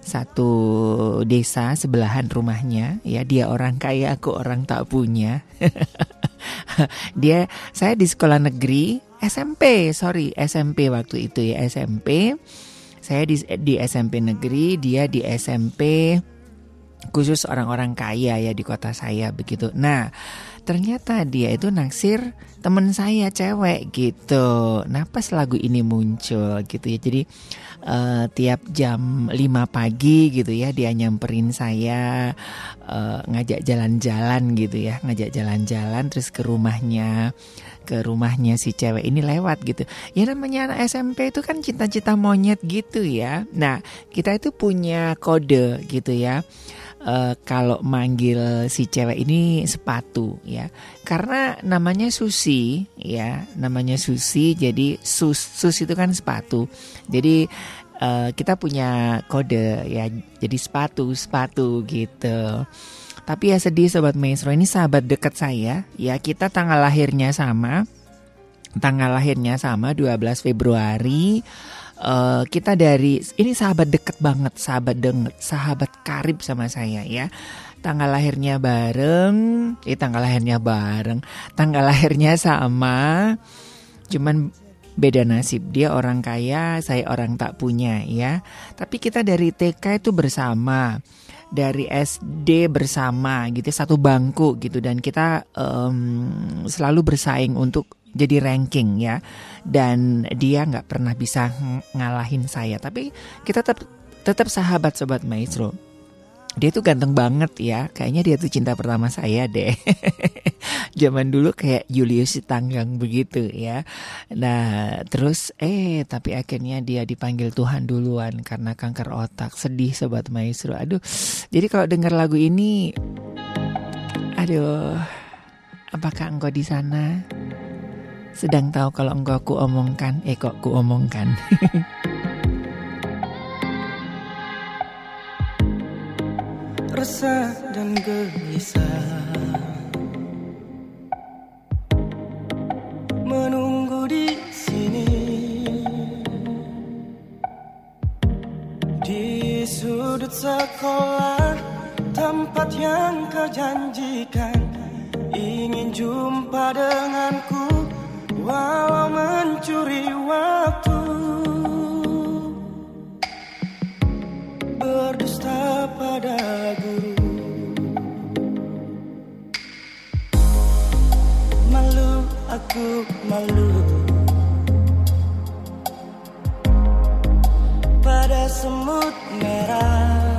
desa sebelahan rumahnya ya. Dia orang kaya, aku orang tak punya. Saya di sekolah negeri SMP waktu itu ya, SMP. Saya di SMP negeri, dia di SMP khusus orang-orang kaya ya di kota saya begitu. Nah, ternyata dia itu naksir temen saya cewek gitu. Nah, pas lagu ini muncul gitu ya. Jadi tiap jam 5 pagi gitu ya, dia nyamperin saya, ngajak jalan-jalan gitu ya. Ngajak jalan-jalan terus ke rumahnya si cewek ini lewat gitu. Ya namanya anak SMP itu kan cinta-cinta monyet gitu ya. Nah, kita itu punya kode gitu ya. Kalau manggil si cewek ini sepatu ya, karena namanya Susi ya, namanya Susi, jadi sus itu kan sepatu, jadi kita punya kode ya, jadi sepatu gitu. Tapi ya sedih Sobat Maestro, ini sahabat dekat saya ya, kita tanggal lahirnya sama 12 Februari Kita dari ini sahabat deket banget, sahabat karib sama saya ya. Tanggal lahirnya sama, cuman beda nasib. Dia orang kaya, saya orang tak punya ya. Tapi kita dari TK itu bersama, dari SD bersama gitu, satu bangku gitu, dan kita selalu bersaing untuk jadi ranking ya. Dan dia nggak pernah bisa ngalahin saya, tapi kita tetap sahabat Sobat Maestro. Dia tuh ganteng banget ya, kayaknya dia tuh cinta pertama saya deh. Zaman dulu kayak Julius Tanggang begitu ya. Nah terus tapi akhirnya dia dipanggil Tuhan duluan karena kanker otak. Sedih Sobat Maestro. Aduh, jadi kalau dengar lagu ini, aduh, apakah engkau di sana sedang tahu kalau engkau kuomongkan? Kok kuomongkan? Resah dan gelisah menunggu di sini, di sudut sekolah, tempat yang kau janjikan. Ingin jumpa denganku, walau mencuri waktu, berdusta pada guru. Malu, aku malu pada semut merah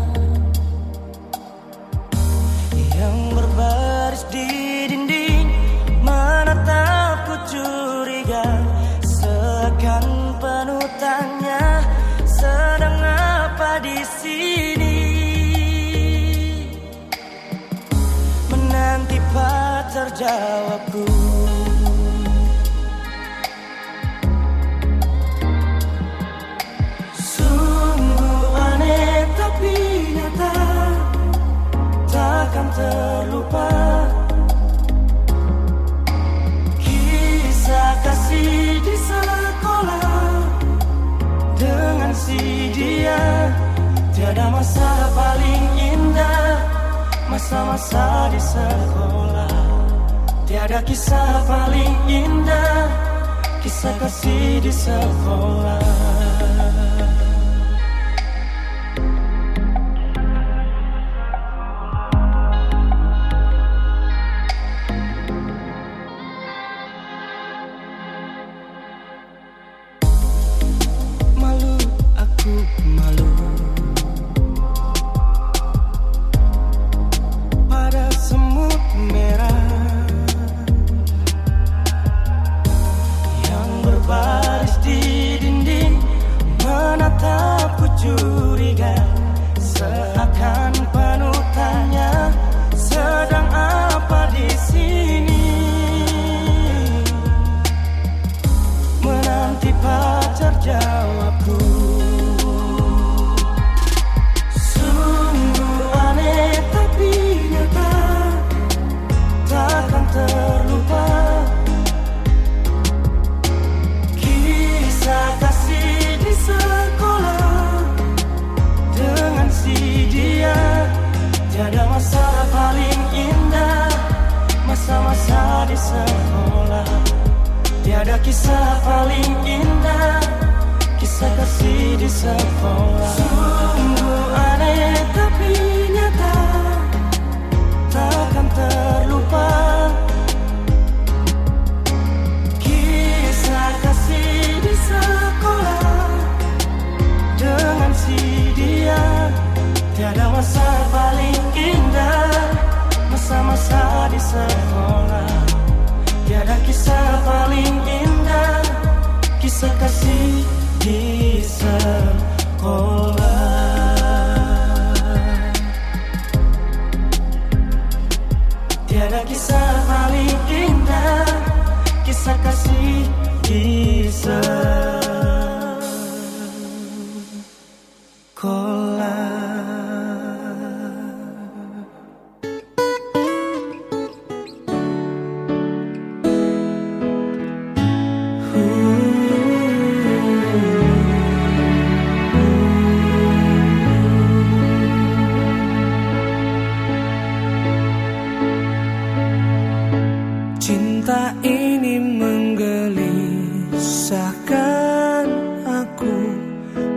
yang berbaris di dinding, menatapku curiga, seakan panutannya sedang apa di sini, menanti pacar jawabku. Sungguh aneh tapi nyata, takkan terlupa kisah kasih di sekolah dengan si dia. Tiada masa paling indah, masa-masa di sekolah. Tiada kisah paling indah, kisah kasih di sekolah. Malu, aku malu pada semut merah yang berbaris di dinding, menatapku curiga, seakan panutannya sedang apa di sini, menanti pacar jawabku. Sungguh aneh tapi nyata, takkan terlupa kisah kasih di sekolah dengan si dia. Tiada masa paling indah, masa-masa di sekolah. Tiada kisah paling indah, kisah kasih di sekolah. Sungguh aneh tapi nyata, takkan terlupa kisah kasih di sekolah dengan si dia. Tiada masa paling indah, masa-masa di sekolah. Tiada kisah paling indah, kisah kasih di sekolah. Tiada kisah paling indah, kisah kasih di sekolah.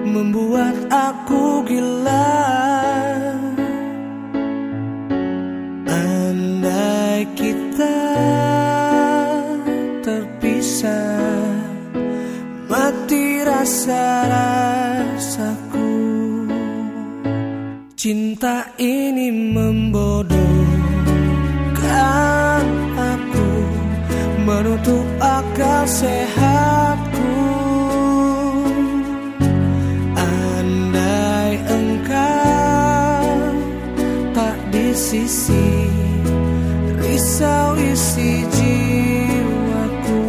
membuat aku gila. Andai kita terpisah, mati rasa-rasaku. Cinta ini membodohkan aku, menutup akal sehatku. Andai engkau tak di sisi, risau isi jiwaku.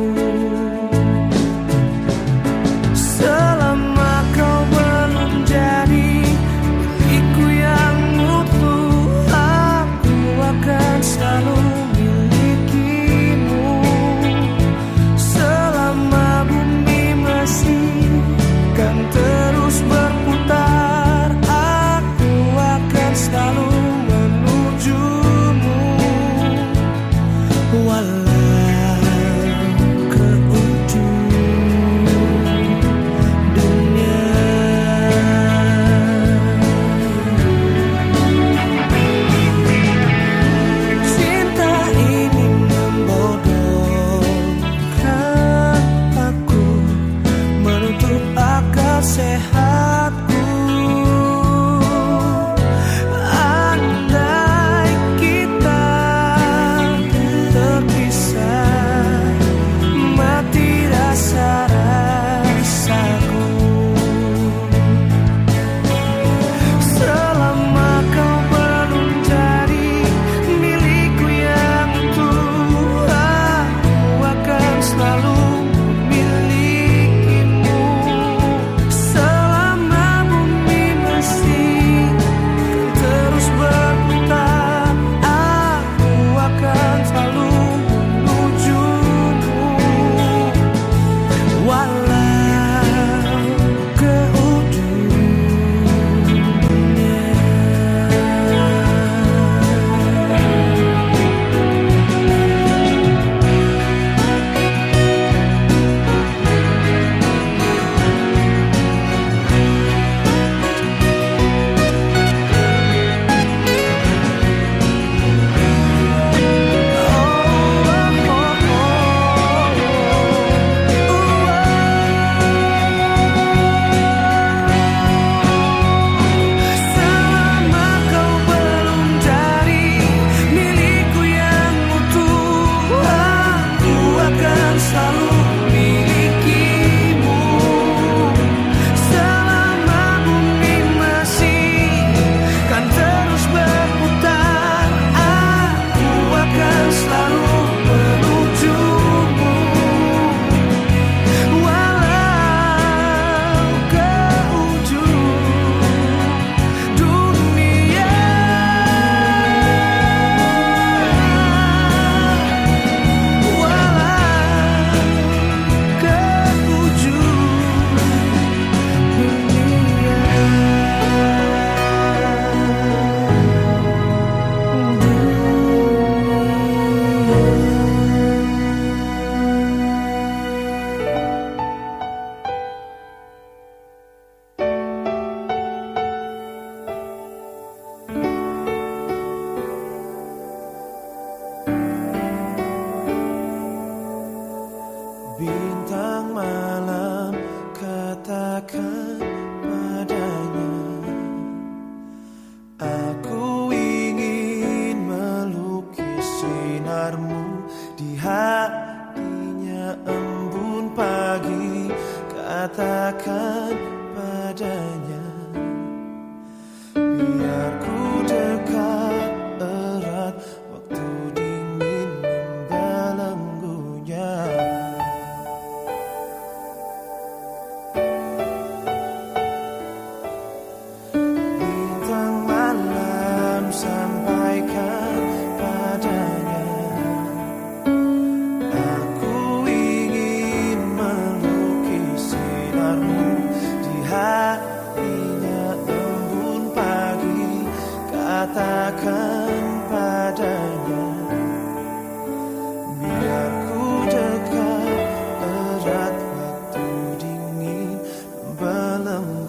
Selama kau belum jadi milikku yang utuh, aku akan selalu milikimu. Selama bumi masih kan terus berputar, aku akan selalu menujumu. Walau ke ujung dunia. Cinta ini membodohkan aku, menutup akal sehatku. Andai kita terpisah, mati rasa-rasaku. Selama kau belum jadi milikku yang utuh, aku akan selalu memilikimu. Selama bumi masih kan terus berputar, aku akan selalu menujumu. Walau ke ujung dunia. Selama kau belum jadi milikku yang utuh, aku akan selalu milikimu. Selama bumi masih kan terus berputar, aku akan selalu menujumu. Walau ke ujung dunia. Walau ke ujung bintang malam, katakan padanya, aku ingin melukis sinarmu di hatinya embun pagi. Katakan padanya, biar ku dekat erat, waktu dingin membelenggunya. Bintang malam, sampaikan padanya, aku ingin melukis sinarmu di hatinya embun pagi. Katakan padanya, biar ku dekat erat, waktu dingin membelenggu.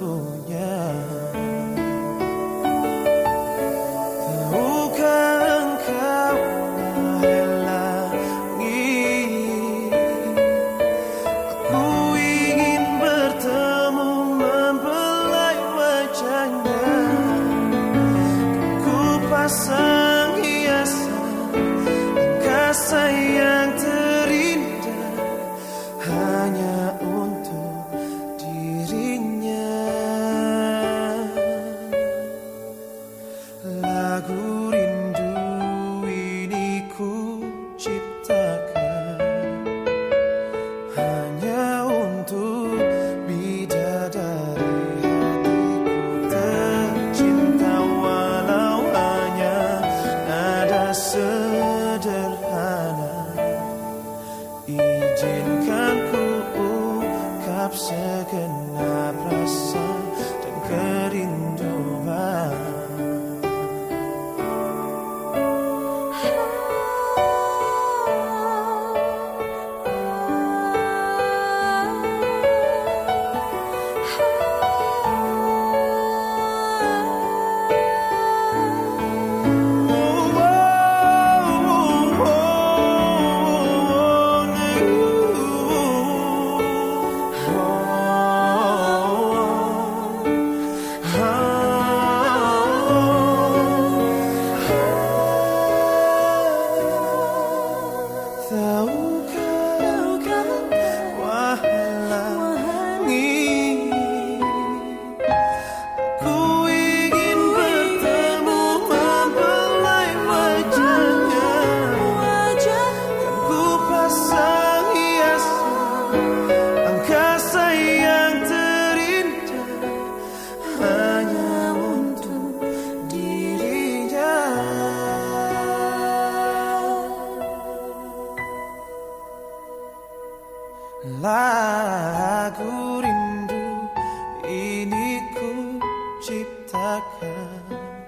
ciptakan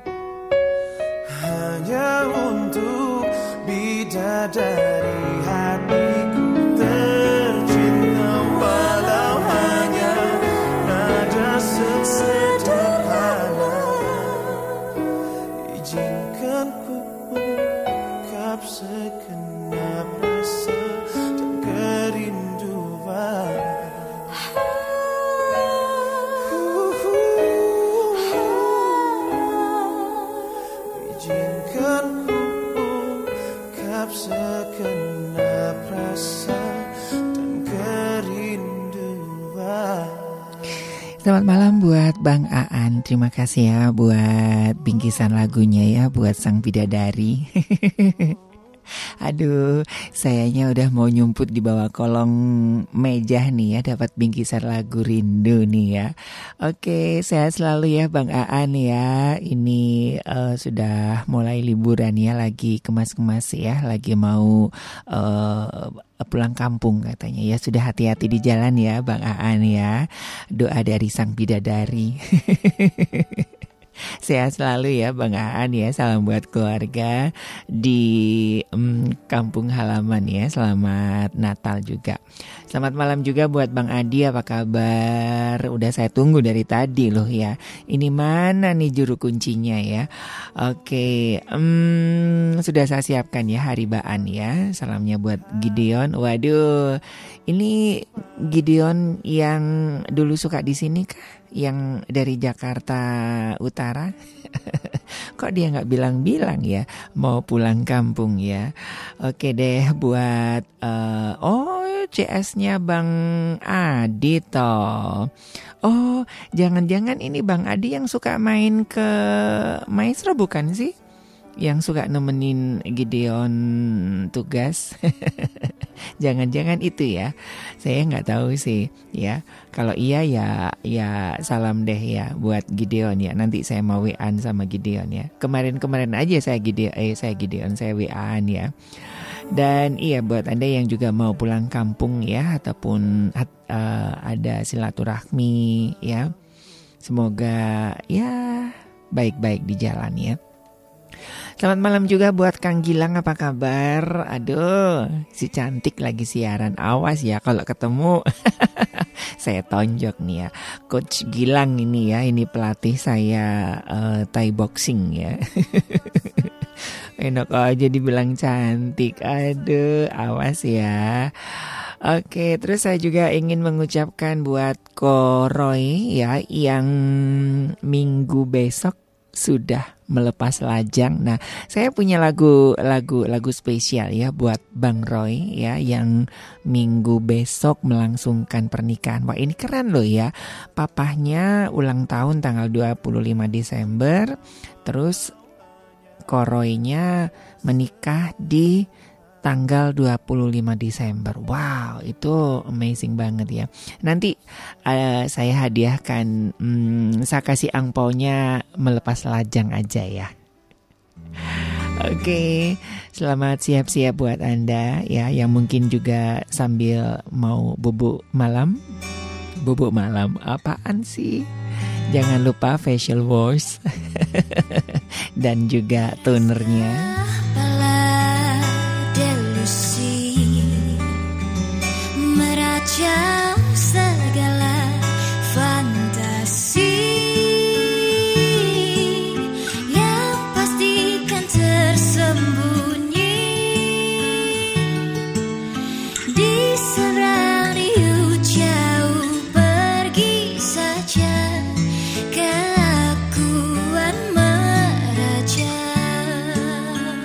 hanya untuk bidadari hatiku tercinta, walau hanya nada sederhana. Izinkan ku ungkap segenap rasa dan kerinduan. Izinkan ku ungkap segenap rasa dan kerinduan. Selamat malam buat Bang Aan. Terima kasih ya buat bingkisan lagunya ya, buat sang bidadari. Aduh, sayanya udah mau nyumput di bawah kolong meja nih ya, dapat bingkisan lagu rindu nih ya. Oke, sehat selalu ya Bang Aan ya. Ini sudah mulai liburan ya, lagi kemas-kemas ya, lagi mau pulang kampung katanya ya. Sudah hati-hati di jalan ya Bang Aan ya. Doa dari sang bidadari. Sehat selalu ya Bang Aan ya. Salam buat keluarga di kampung halaman ya. Selamat Natal juga. Selamat malam juga buat Bang Adi. Apa kabar? Udah saya tunggu dari tadi loh ya. Ini mana nih juru kuncinya ya? Oke, sudah saya siapkan ya haribaan ya. Salamnya buat Gideon. Waduh, ini Gideon yang dulu suka di sini kah? Yang dari Jakarta Utara? Kok dia nggak bilang-bilang ya mau pulang kampung ya? Oke deh, buat CS-nya Bang Adi toh. Oh, jangan-jangan ini Bang Adi yang suka main ke Maestro bukan sih? Yang suka nemenin Gideon tugas. Jangan-jangan itu ya. Saya nggak tahu sih ya. Kalau iya ya salam deh ya buat Gideon ya. Nanti saya mau WA-an sama Gideon ya. Kemarin aja saya Gideon saya WA-an ya. Dan iya buat Anda yang juga mau pulang kampung ya, ataupun ada silaturahmi ya. Semoga ya baik-baik di jalan ya. Selamat malam juga buat Kang Gilang, apa kabar? Aduh, si cantik lagi siaran. Awas ya kalau ketemu. Saya tonjok nih ya. Coach Gilang ini ya, ini pelatih saya Thai boxing ya. Enak aja dibilang cantik. Aduh, awas ya. Oke, terus saya juga ingin mengucapkan buat Ko Roy ya, yang minggu besok sudah melepas lajang. Nah, saya punya lagu spesial ya buat Bang Roy ya, yang minggu besok melangsungkan pernikahan. Wah, ini keren loh ya. Papahnya ulang tahun tanggal 25 Desember. Terus Koroynya menikah di tanggal 25 Desember. Wow, itu amazing banget ya. Nanti saya hadiahkan, saya kasih angpaunya melepas lajang aja ya. Oke, selamat siap-siap buat Anda ya, yang mungkin juga sambil mau bubuk malam. Bubuk malam apaan sih? Jangan lupa facial wash dan juga tonernya. Meracau segala fantasi yang pastikan tersembunyi di seberang riuh jauh, pergi saja kelakuan meraja.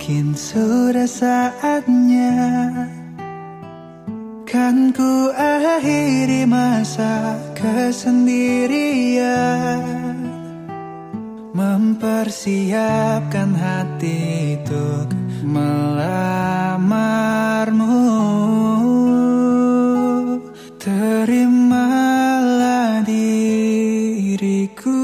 Mungkin sudah saatnya kan ku akhiri masa kesendirian, mempersiapkan hati untuk melamarmu. Terimalah diriku.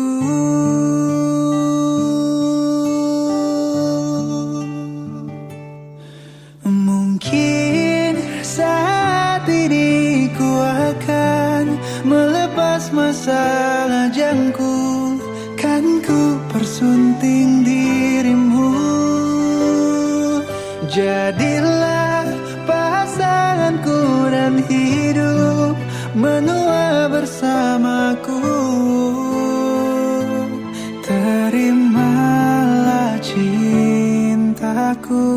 Mungkin saat ini ku akan melepas masa lajangku, kan ku persunting dirimu. Jadilah pasanganku dan hidup menua bersamaku. Terimalah cintaku.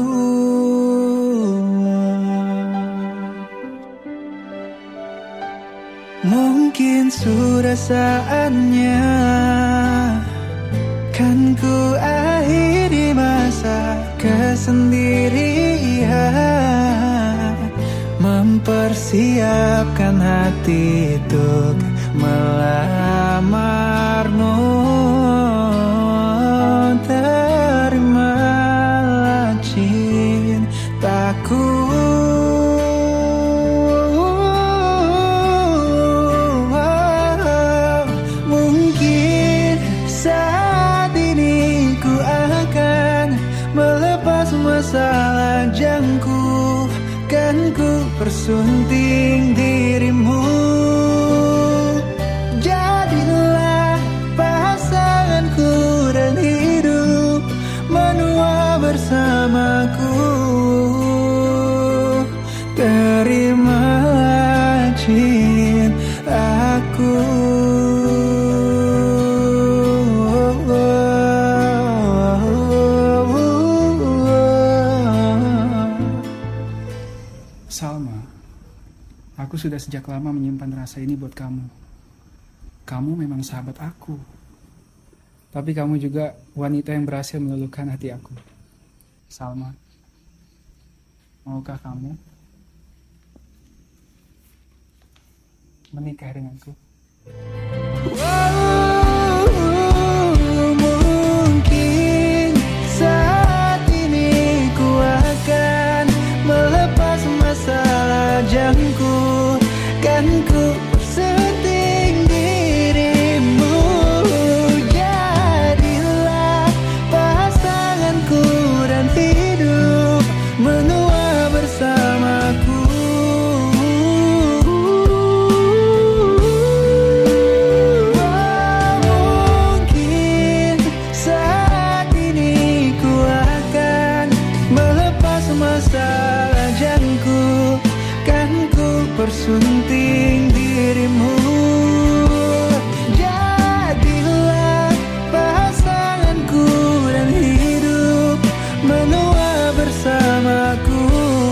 Mungkin sudah saatnya kan ku akhiri masa kesendirian, mempersiapkan hati untuk melamarmu. Terimalah cintaku. Mungkin saat ini ku akan melepas masa lajangku, kan ku persunting dirimu. Jadilah pasanganku dan hidup menua bersamaku. Terimalah cintaku. Salma, aku sudah sejak lama menyimpan rasa ini buat kamu. Kamu memang sahabat aku. Tapi kamu juga wanita yang berhasil meluluhkan hati aku. Salma, maukah kamu menikah denganku? Mungkin saat ini ku akan melepas masa lajangku, kan ku persunting dirimu. Jadilah pasanganku dan hidup menua bersamaku. Mungkin saat ini ku akan melepas masa lajangku, kan ku persunting dirimu. Jadilah pasanganku dan hidup menua bersamaku.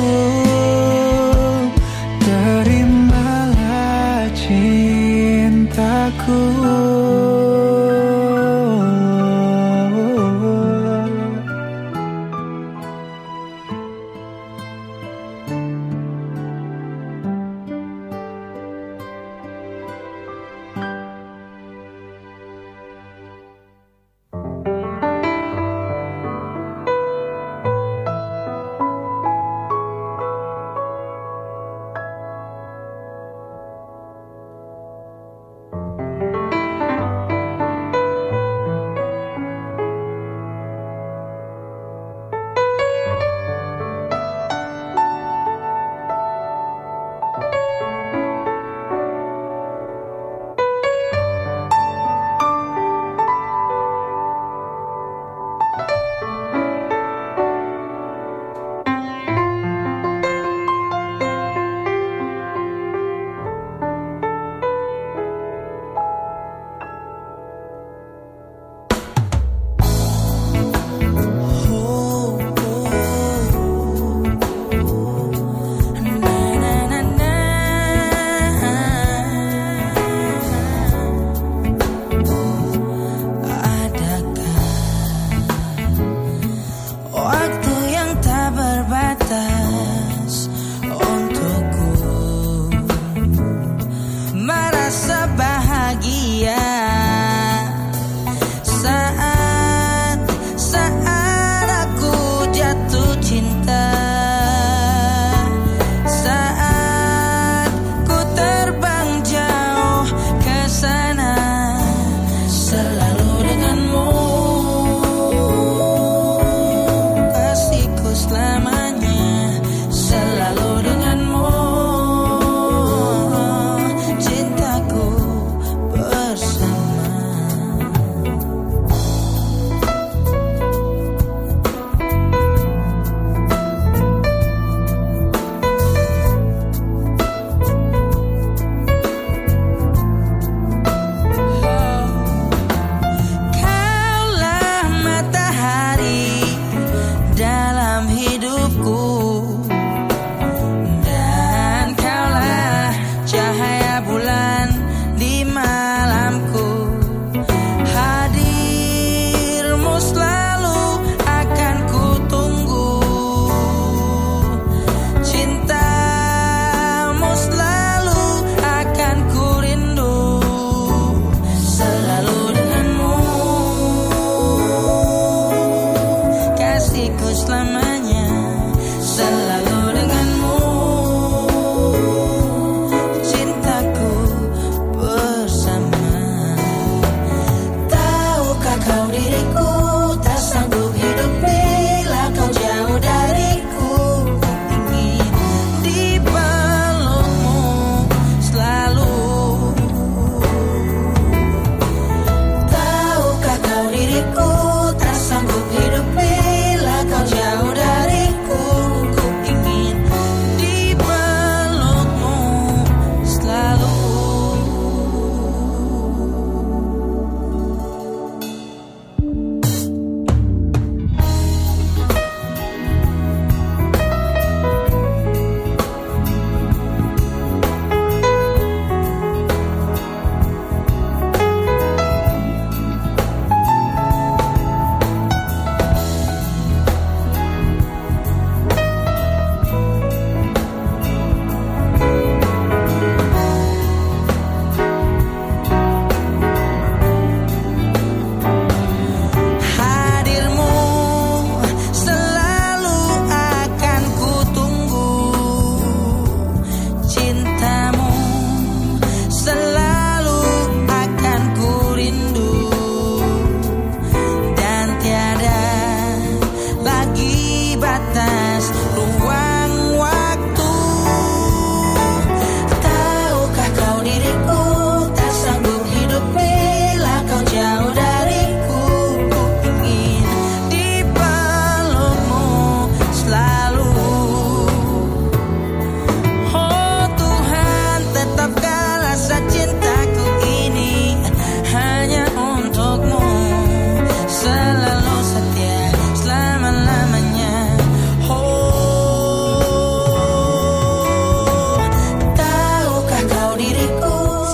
Terimalah cintaku.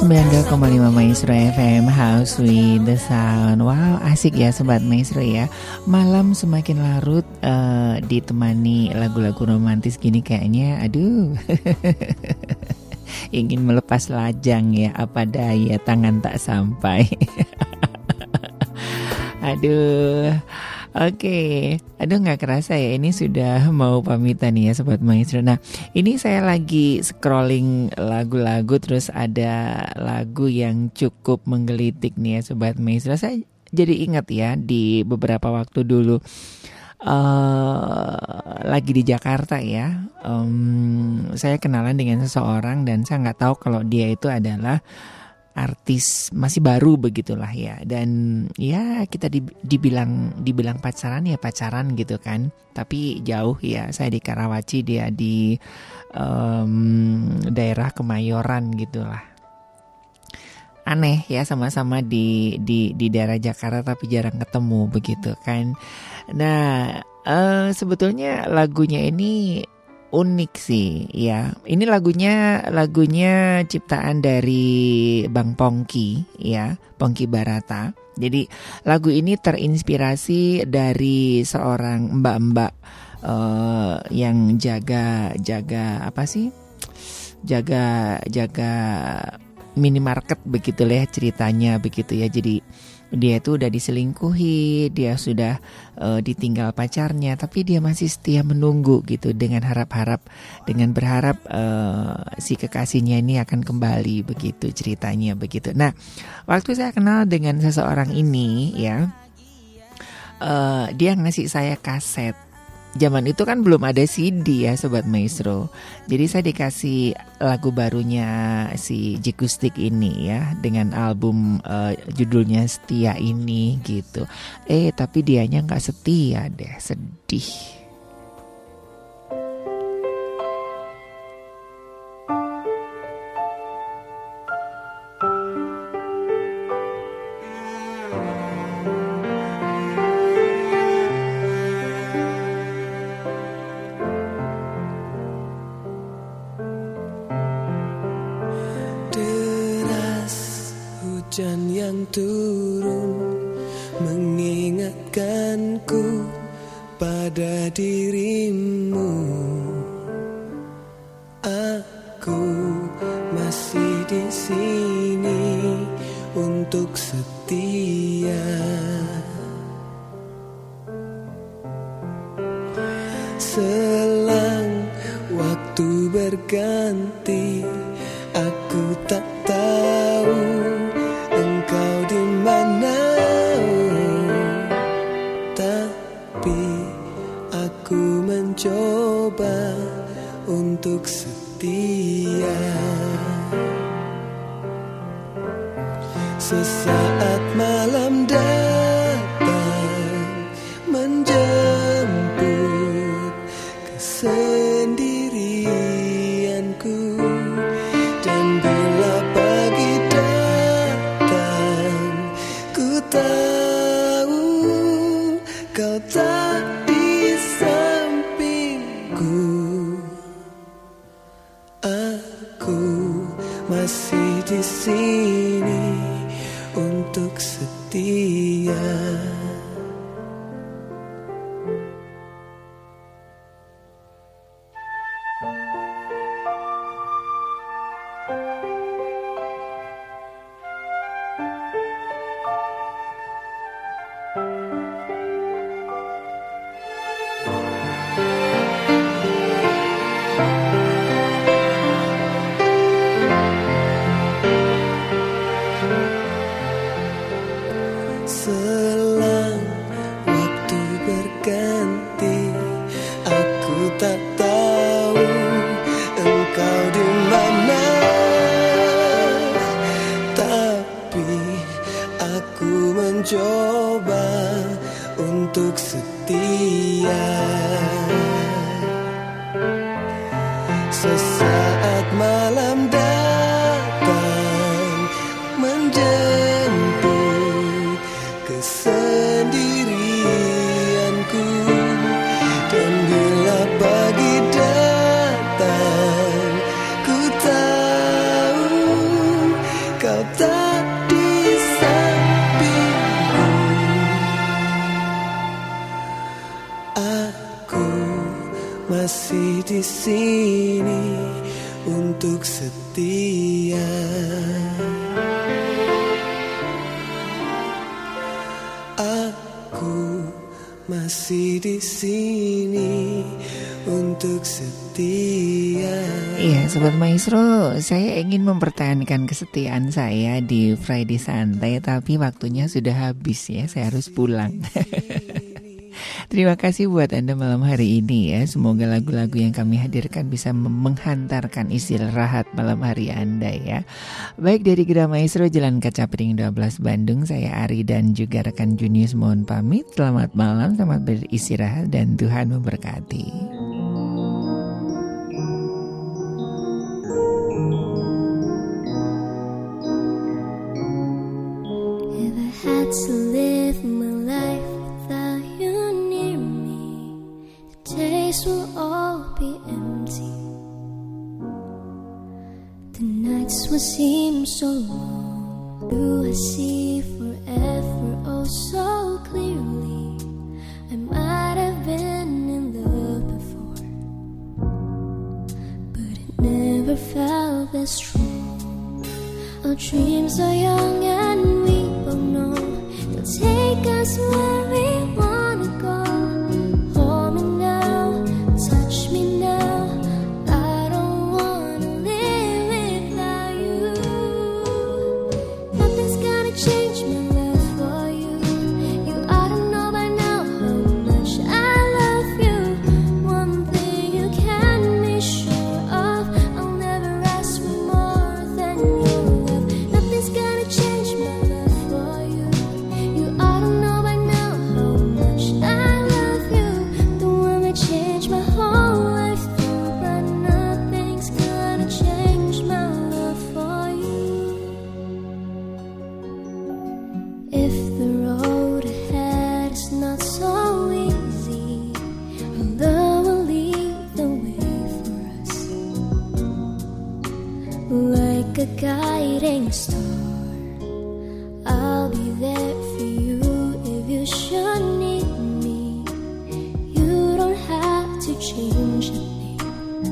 92,5 Maestro FM, House with the Sound. Wow, asik ya Sobat Maestro ya. Malam semakin larut, ditemani lagu-lagu romantis gini kayaknya, aduh. Ingin melepas lajang ya, apa daya tangan tak sampai. Aduh. Oke, aduh gak kerasa ya, ini sudah mau pamitan ya Sobat Maestro. Nah, ini saya lagi scrolling lagu-lagu, terus ada lagu yang cukup menggelitik nih ya Sobat Maestro. Saya jadi ingat ya, di beberapa waktu dulu lagi di Jakarta ya, saya kenalan dengan seseorang dan saya gak tahu kalau dia itu adalah artis masih baru begitulah ya, dan ya kita dibilang pacaran ya pacaran gitu kan, tapi jauh ya. Saya di Karawaci, dia di daerah Kemayoran gitulah. Aneh ya, sama-sama di daerah Jakarta tapi jarang ketemu begitu kan. Nah, sebetulnya lagunya ini unik sih ya. Ini lagunya ciptaan dari Bang Pongki ya, Pongki Barata. Jadi lagu ini terinspirasi dari seorang mbak-mbak yang jaga apa sih? Jaga minimarket begitu lah ceritanya begitu ya. Jadi dia itu udah diselingkuhi, dia sudah ditinggal pacarnya, tapi dia masih setia menunggu gitu dengan berharap si kekasihnya ini akan kembali begitu ceritanya begitu. Nah, waktu saya kenal dengan seseorang ini ya, dia ngasih saya kaset. Zaman itu kan belum ada CD ya Sobat Maestro. Jadi saya dikasih lagu barunya si Jikustik ini ya, dengan album judulnya Setia ini gitu. Tapi dianya gak setia deh, sedih. Hujan yang turun mengingatkanku pada dirimu. Aku masih di sini untuk setia. Selang waktu berganti, aku tak tahu engkau di mana, tapi aku mencoba untuk setia. Sesaat malam datang menjemput kesendirianku, dan bila pagi datang, ku tahu kau tak di sampingku. Aku masih di sini untuk setia. Selang waktu berganti, aku tak tahu engkau di mana, tapi aku mencoba untuk setia. Sesaat malam datang menjemput kesendirianku, dan bila pagi datang, ku tahu Aku masih di sini untuk setia. Iya, Sobat Maestro, saya ingin mempertahankan kesetiaan saya di Friday Santai, tapi waktunya sudah habis ya, saya harus pulang. Terima kasih buat Anda malam hari ini ya. Semoga lagu-lagu yang kami hadirkan bisa menghantarkan istirahat malam hari Anda ya. Baik, dari Gera Maestro Jalan Kaca Piring 12 Bandung, saya Ari dan juga rekan Junius mohon pamit. Selamat malam, selamat beristirahat dan Tuhan memberkati. If I had to live my life without you near me, the days will all be empty. The nights will seem so long. Do I see forever oh so clearly? I might have been in love before, but it never felt this strong. Our dreams are young and we both know they'll take us where we wanna go. Hold me now, touch me now. I don't wanna live without you. Nothing's gonna change my love for you. You ought to know by now how much I love you. One thing you can be sure of, I'll never ask for more than your love. Nothing's gonna change my love for you. You ought to know by now how much I love you. The one that changed my whole life through, but nothing's gonna change my love for you. If the road ahead is not so easy, our love will lead the way for us, like a guiding star. I'll be there for you if you should need me. You don't have to change a thing.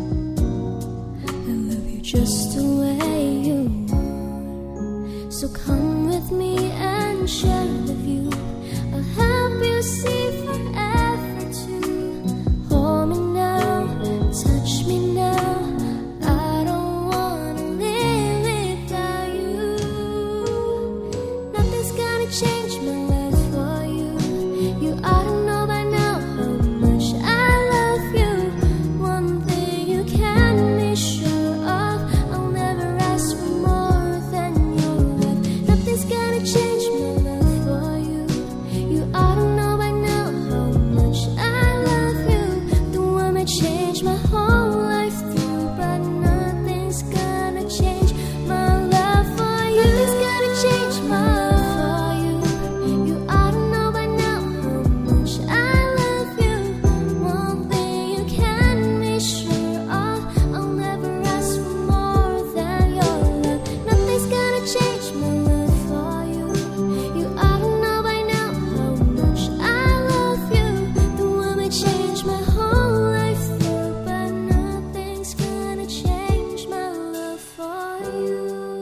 I love you just the way you are. So come with me and share the view. I'll help you see forever too. Hold me now, touch me now. I don't wanna live without you. Nothing's gonna change my love for you. You ought to know by now how much I love you. One thing you can be sure of, I'll never ask for more than your love. Nothing's gonna change my love for you. You ought to know by now how much I love you. The one that changed my whole life through, but nothing's gonna change my love for you. Nothing's gonna change my love for you. You ought to know by now how much I love you. One thing you can be sure of, I'll never ask for more than your love. Nothing's gonna change my love for you. You ought to know by now how much I love you. The one that changed my whole life through, but nothing's gonna change my love for you.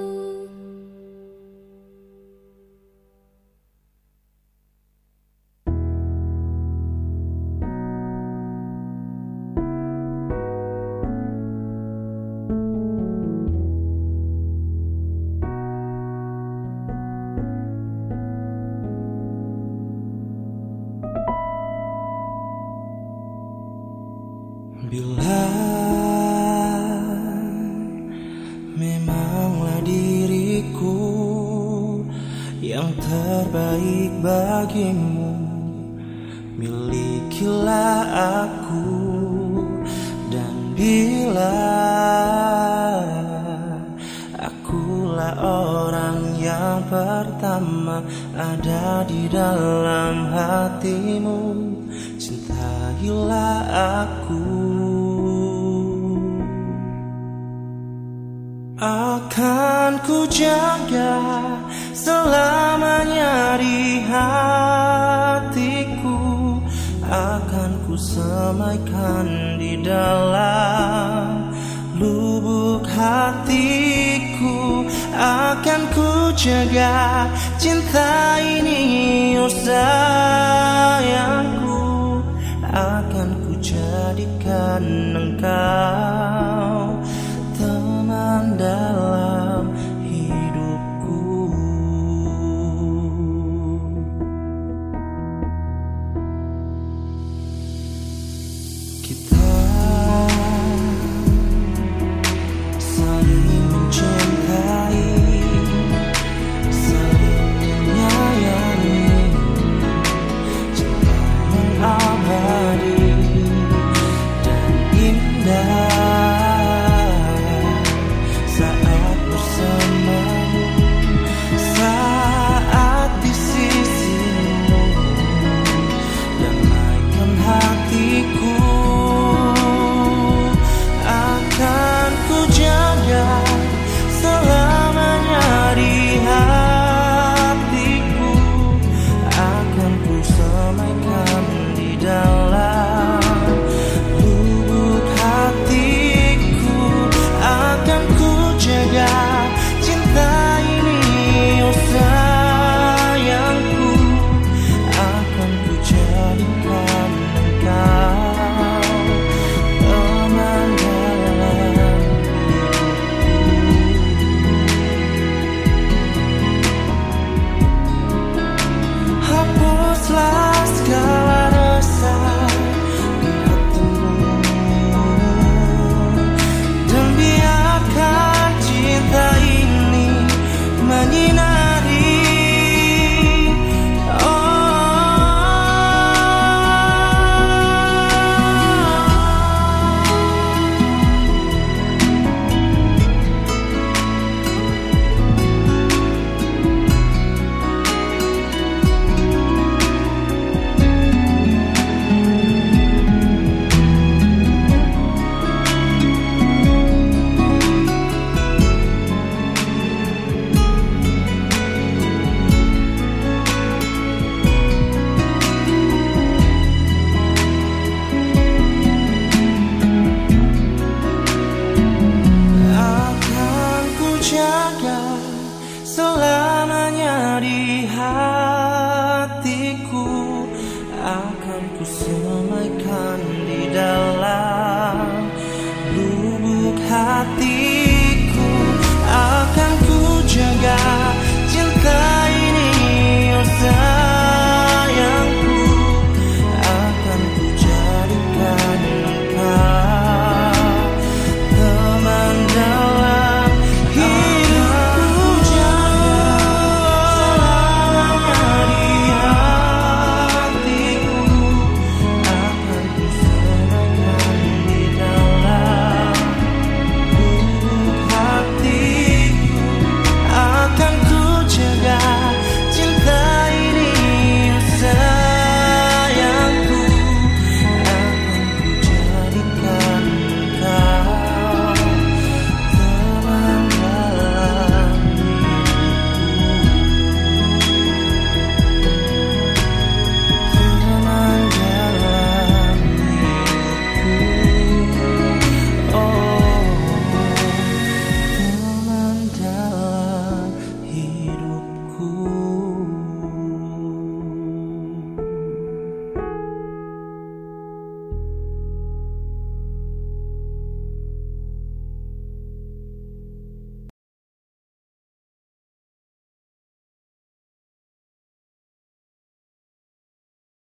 Bila memanglah diriku yang terbaik bagimu, milikilah aku. Dan bila akulah orang yang pertama ada di dalam hatimu, cintailah aku. Akan ku jaga selamanya di hatiku, akan ku semaikan di dalam lubuk hatiku. jaga cinta ini, oh sayangku. Akan ku jadikan engkau teman dalam hidupku. Kita saling mencintai, saling menyayangi, cinta yang abadi dan indah saat bersamamu, saat di sisimu, damaikan hatiku. Akan ku jaga selamanya di hatiku, akan ku semaikan di dalam lubuk hatiku. Akan ku jaga cinta ini, oh sayangku. Akan ku jadikan engkau teman dalam hidupku. Hapuslah segala rasa di hatimu, dan biarkan cinta ini menyinari. Akan ku jaga selamanya di hati.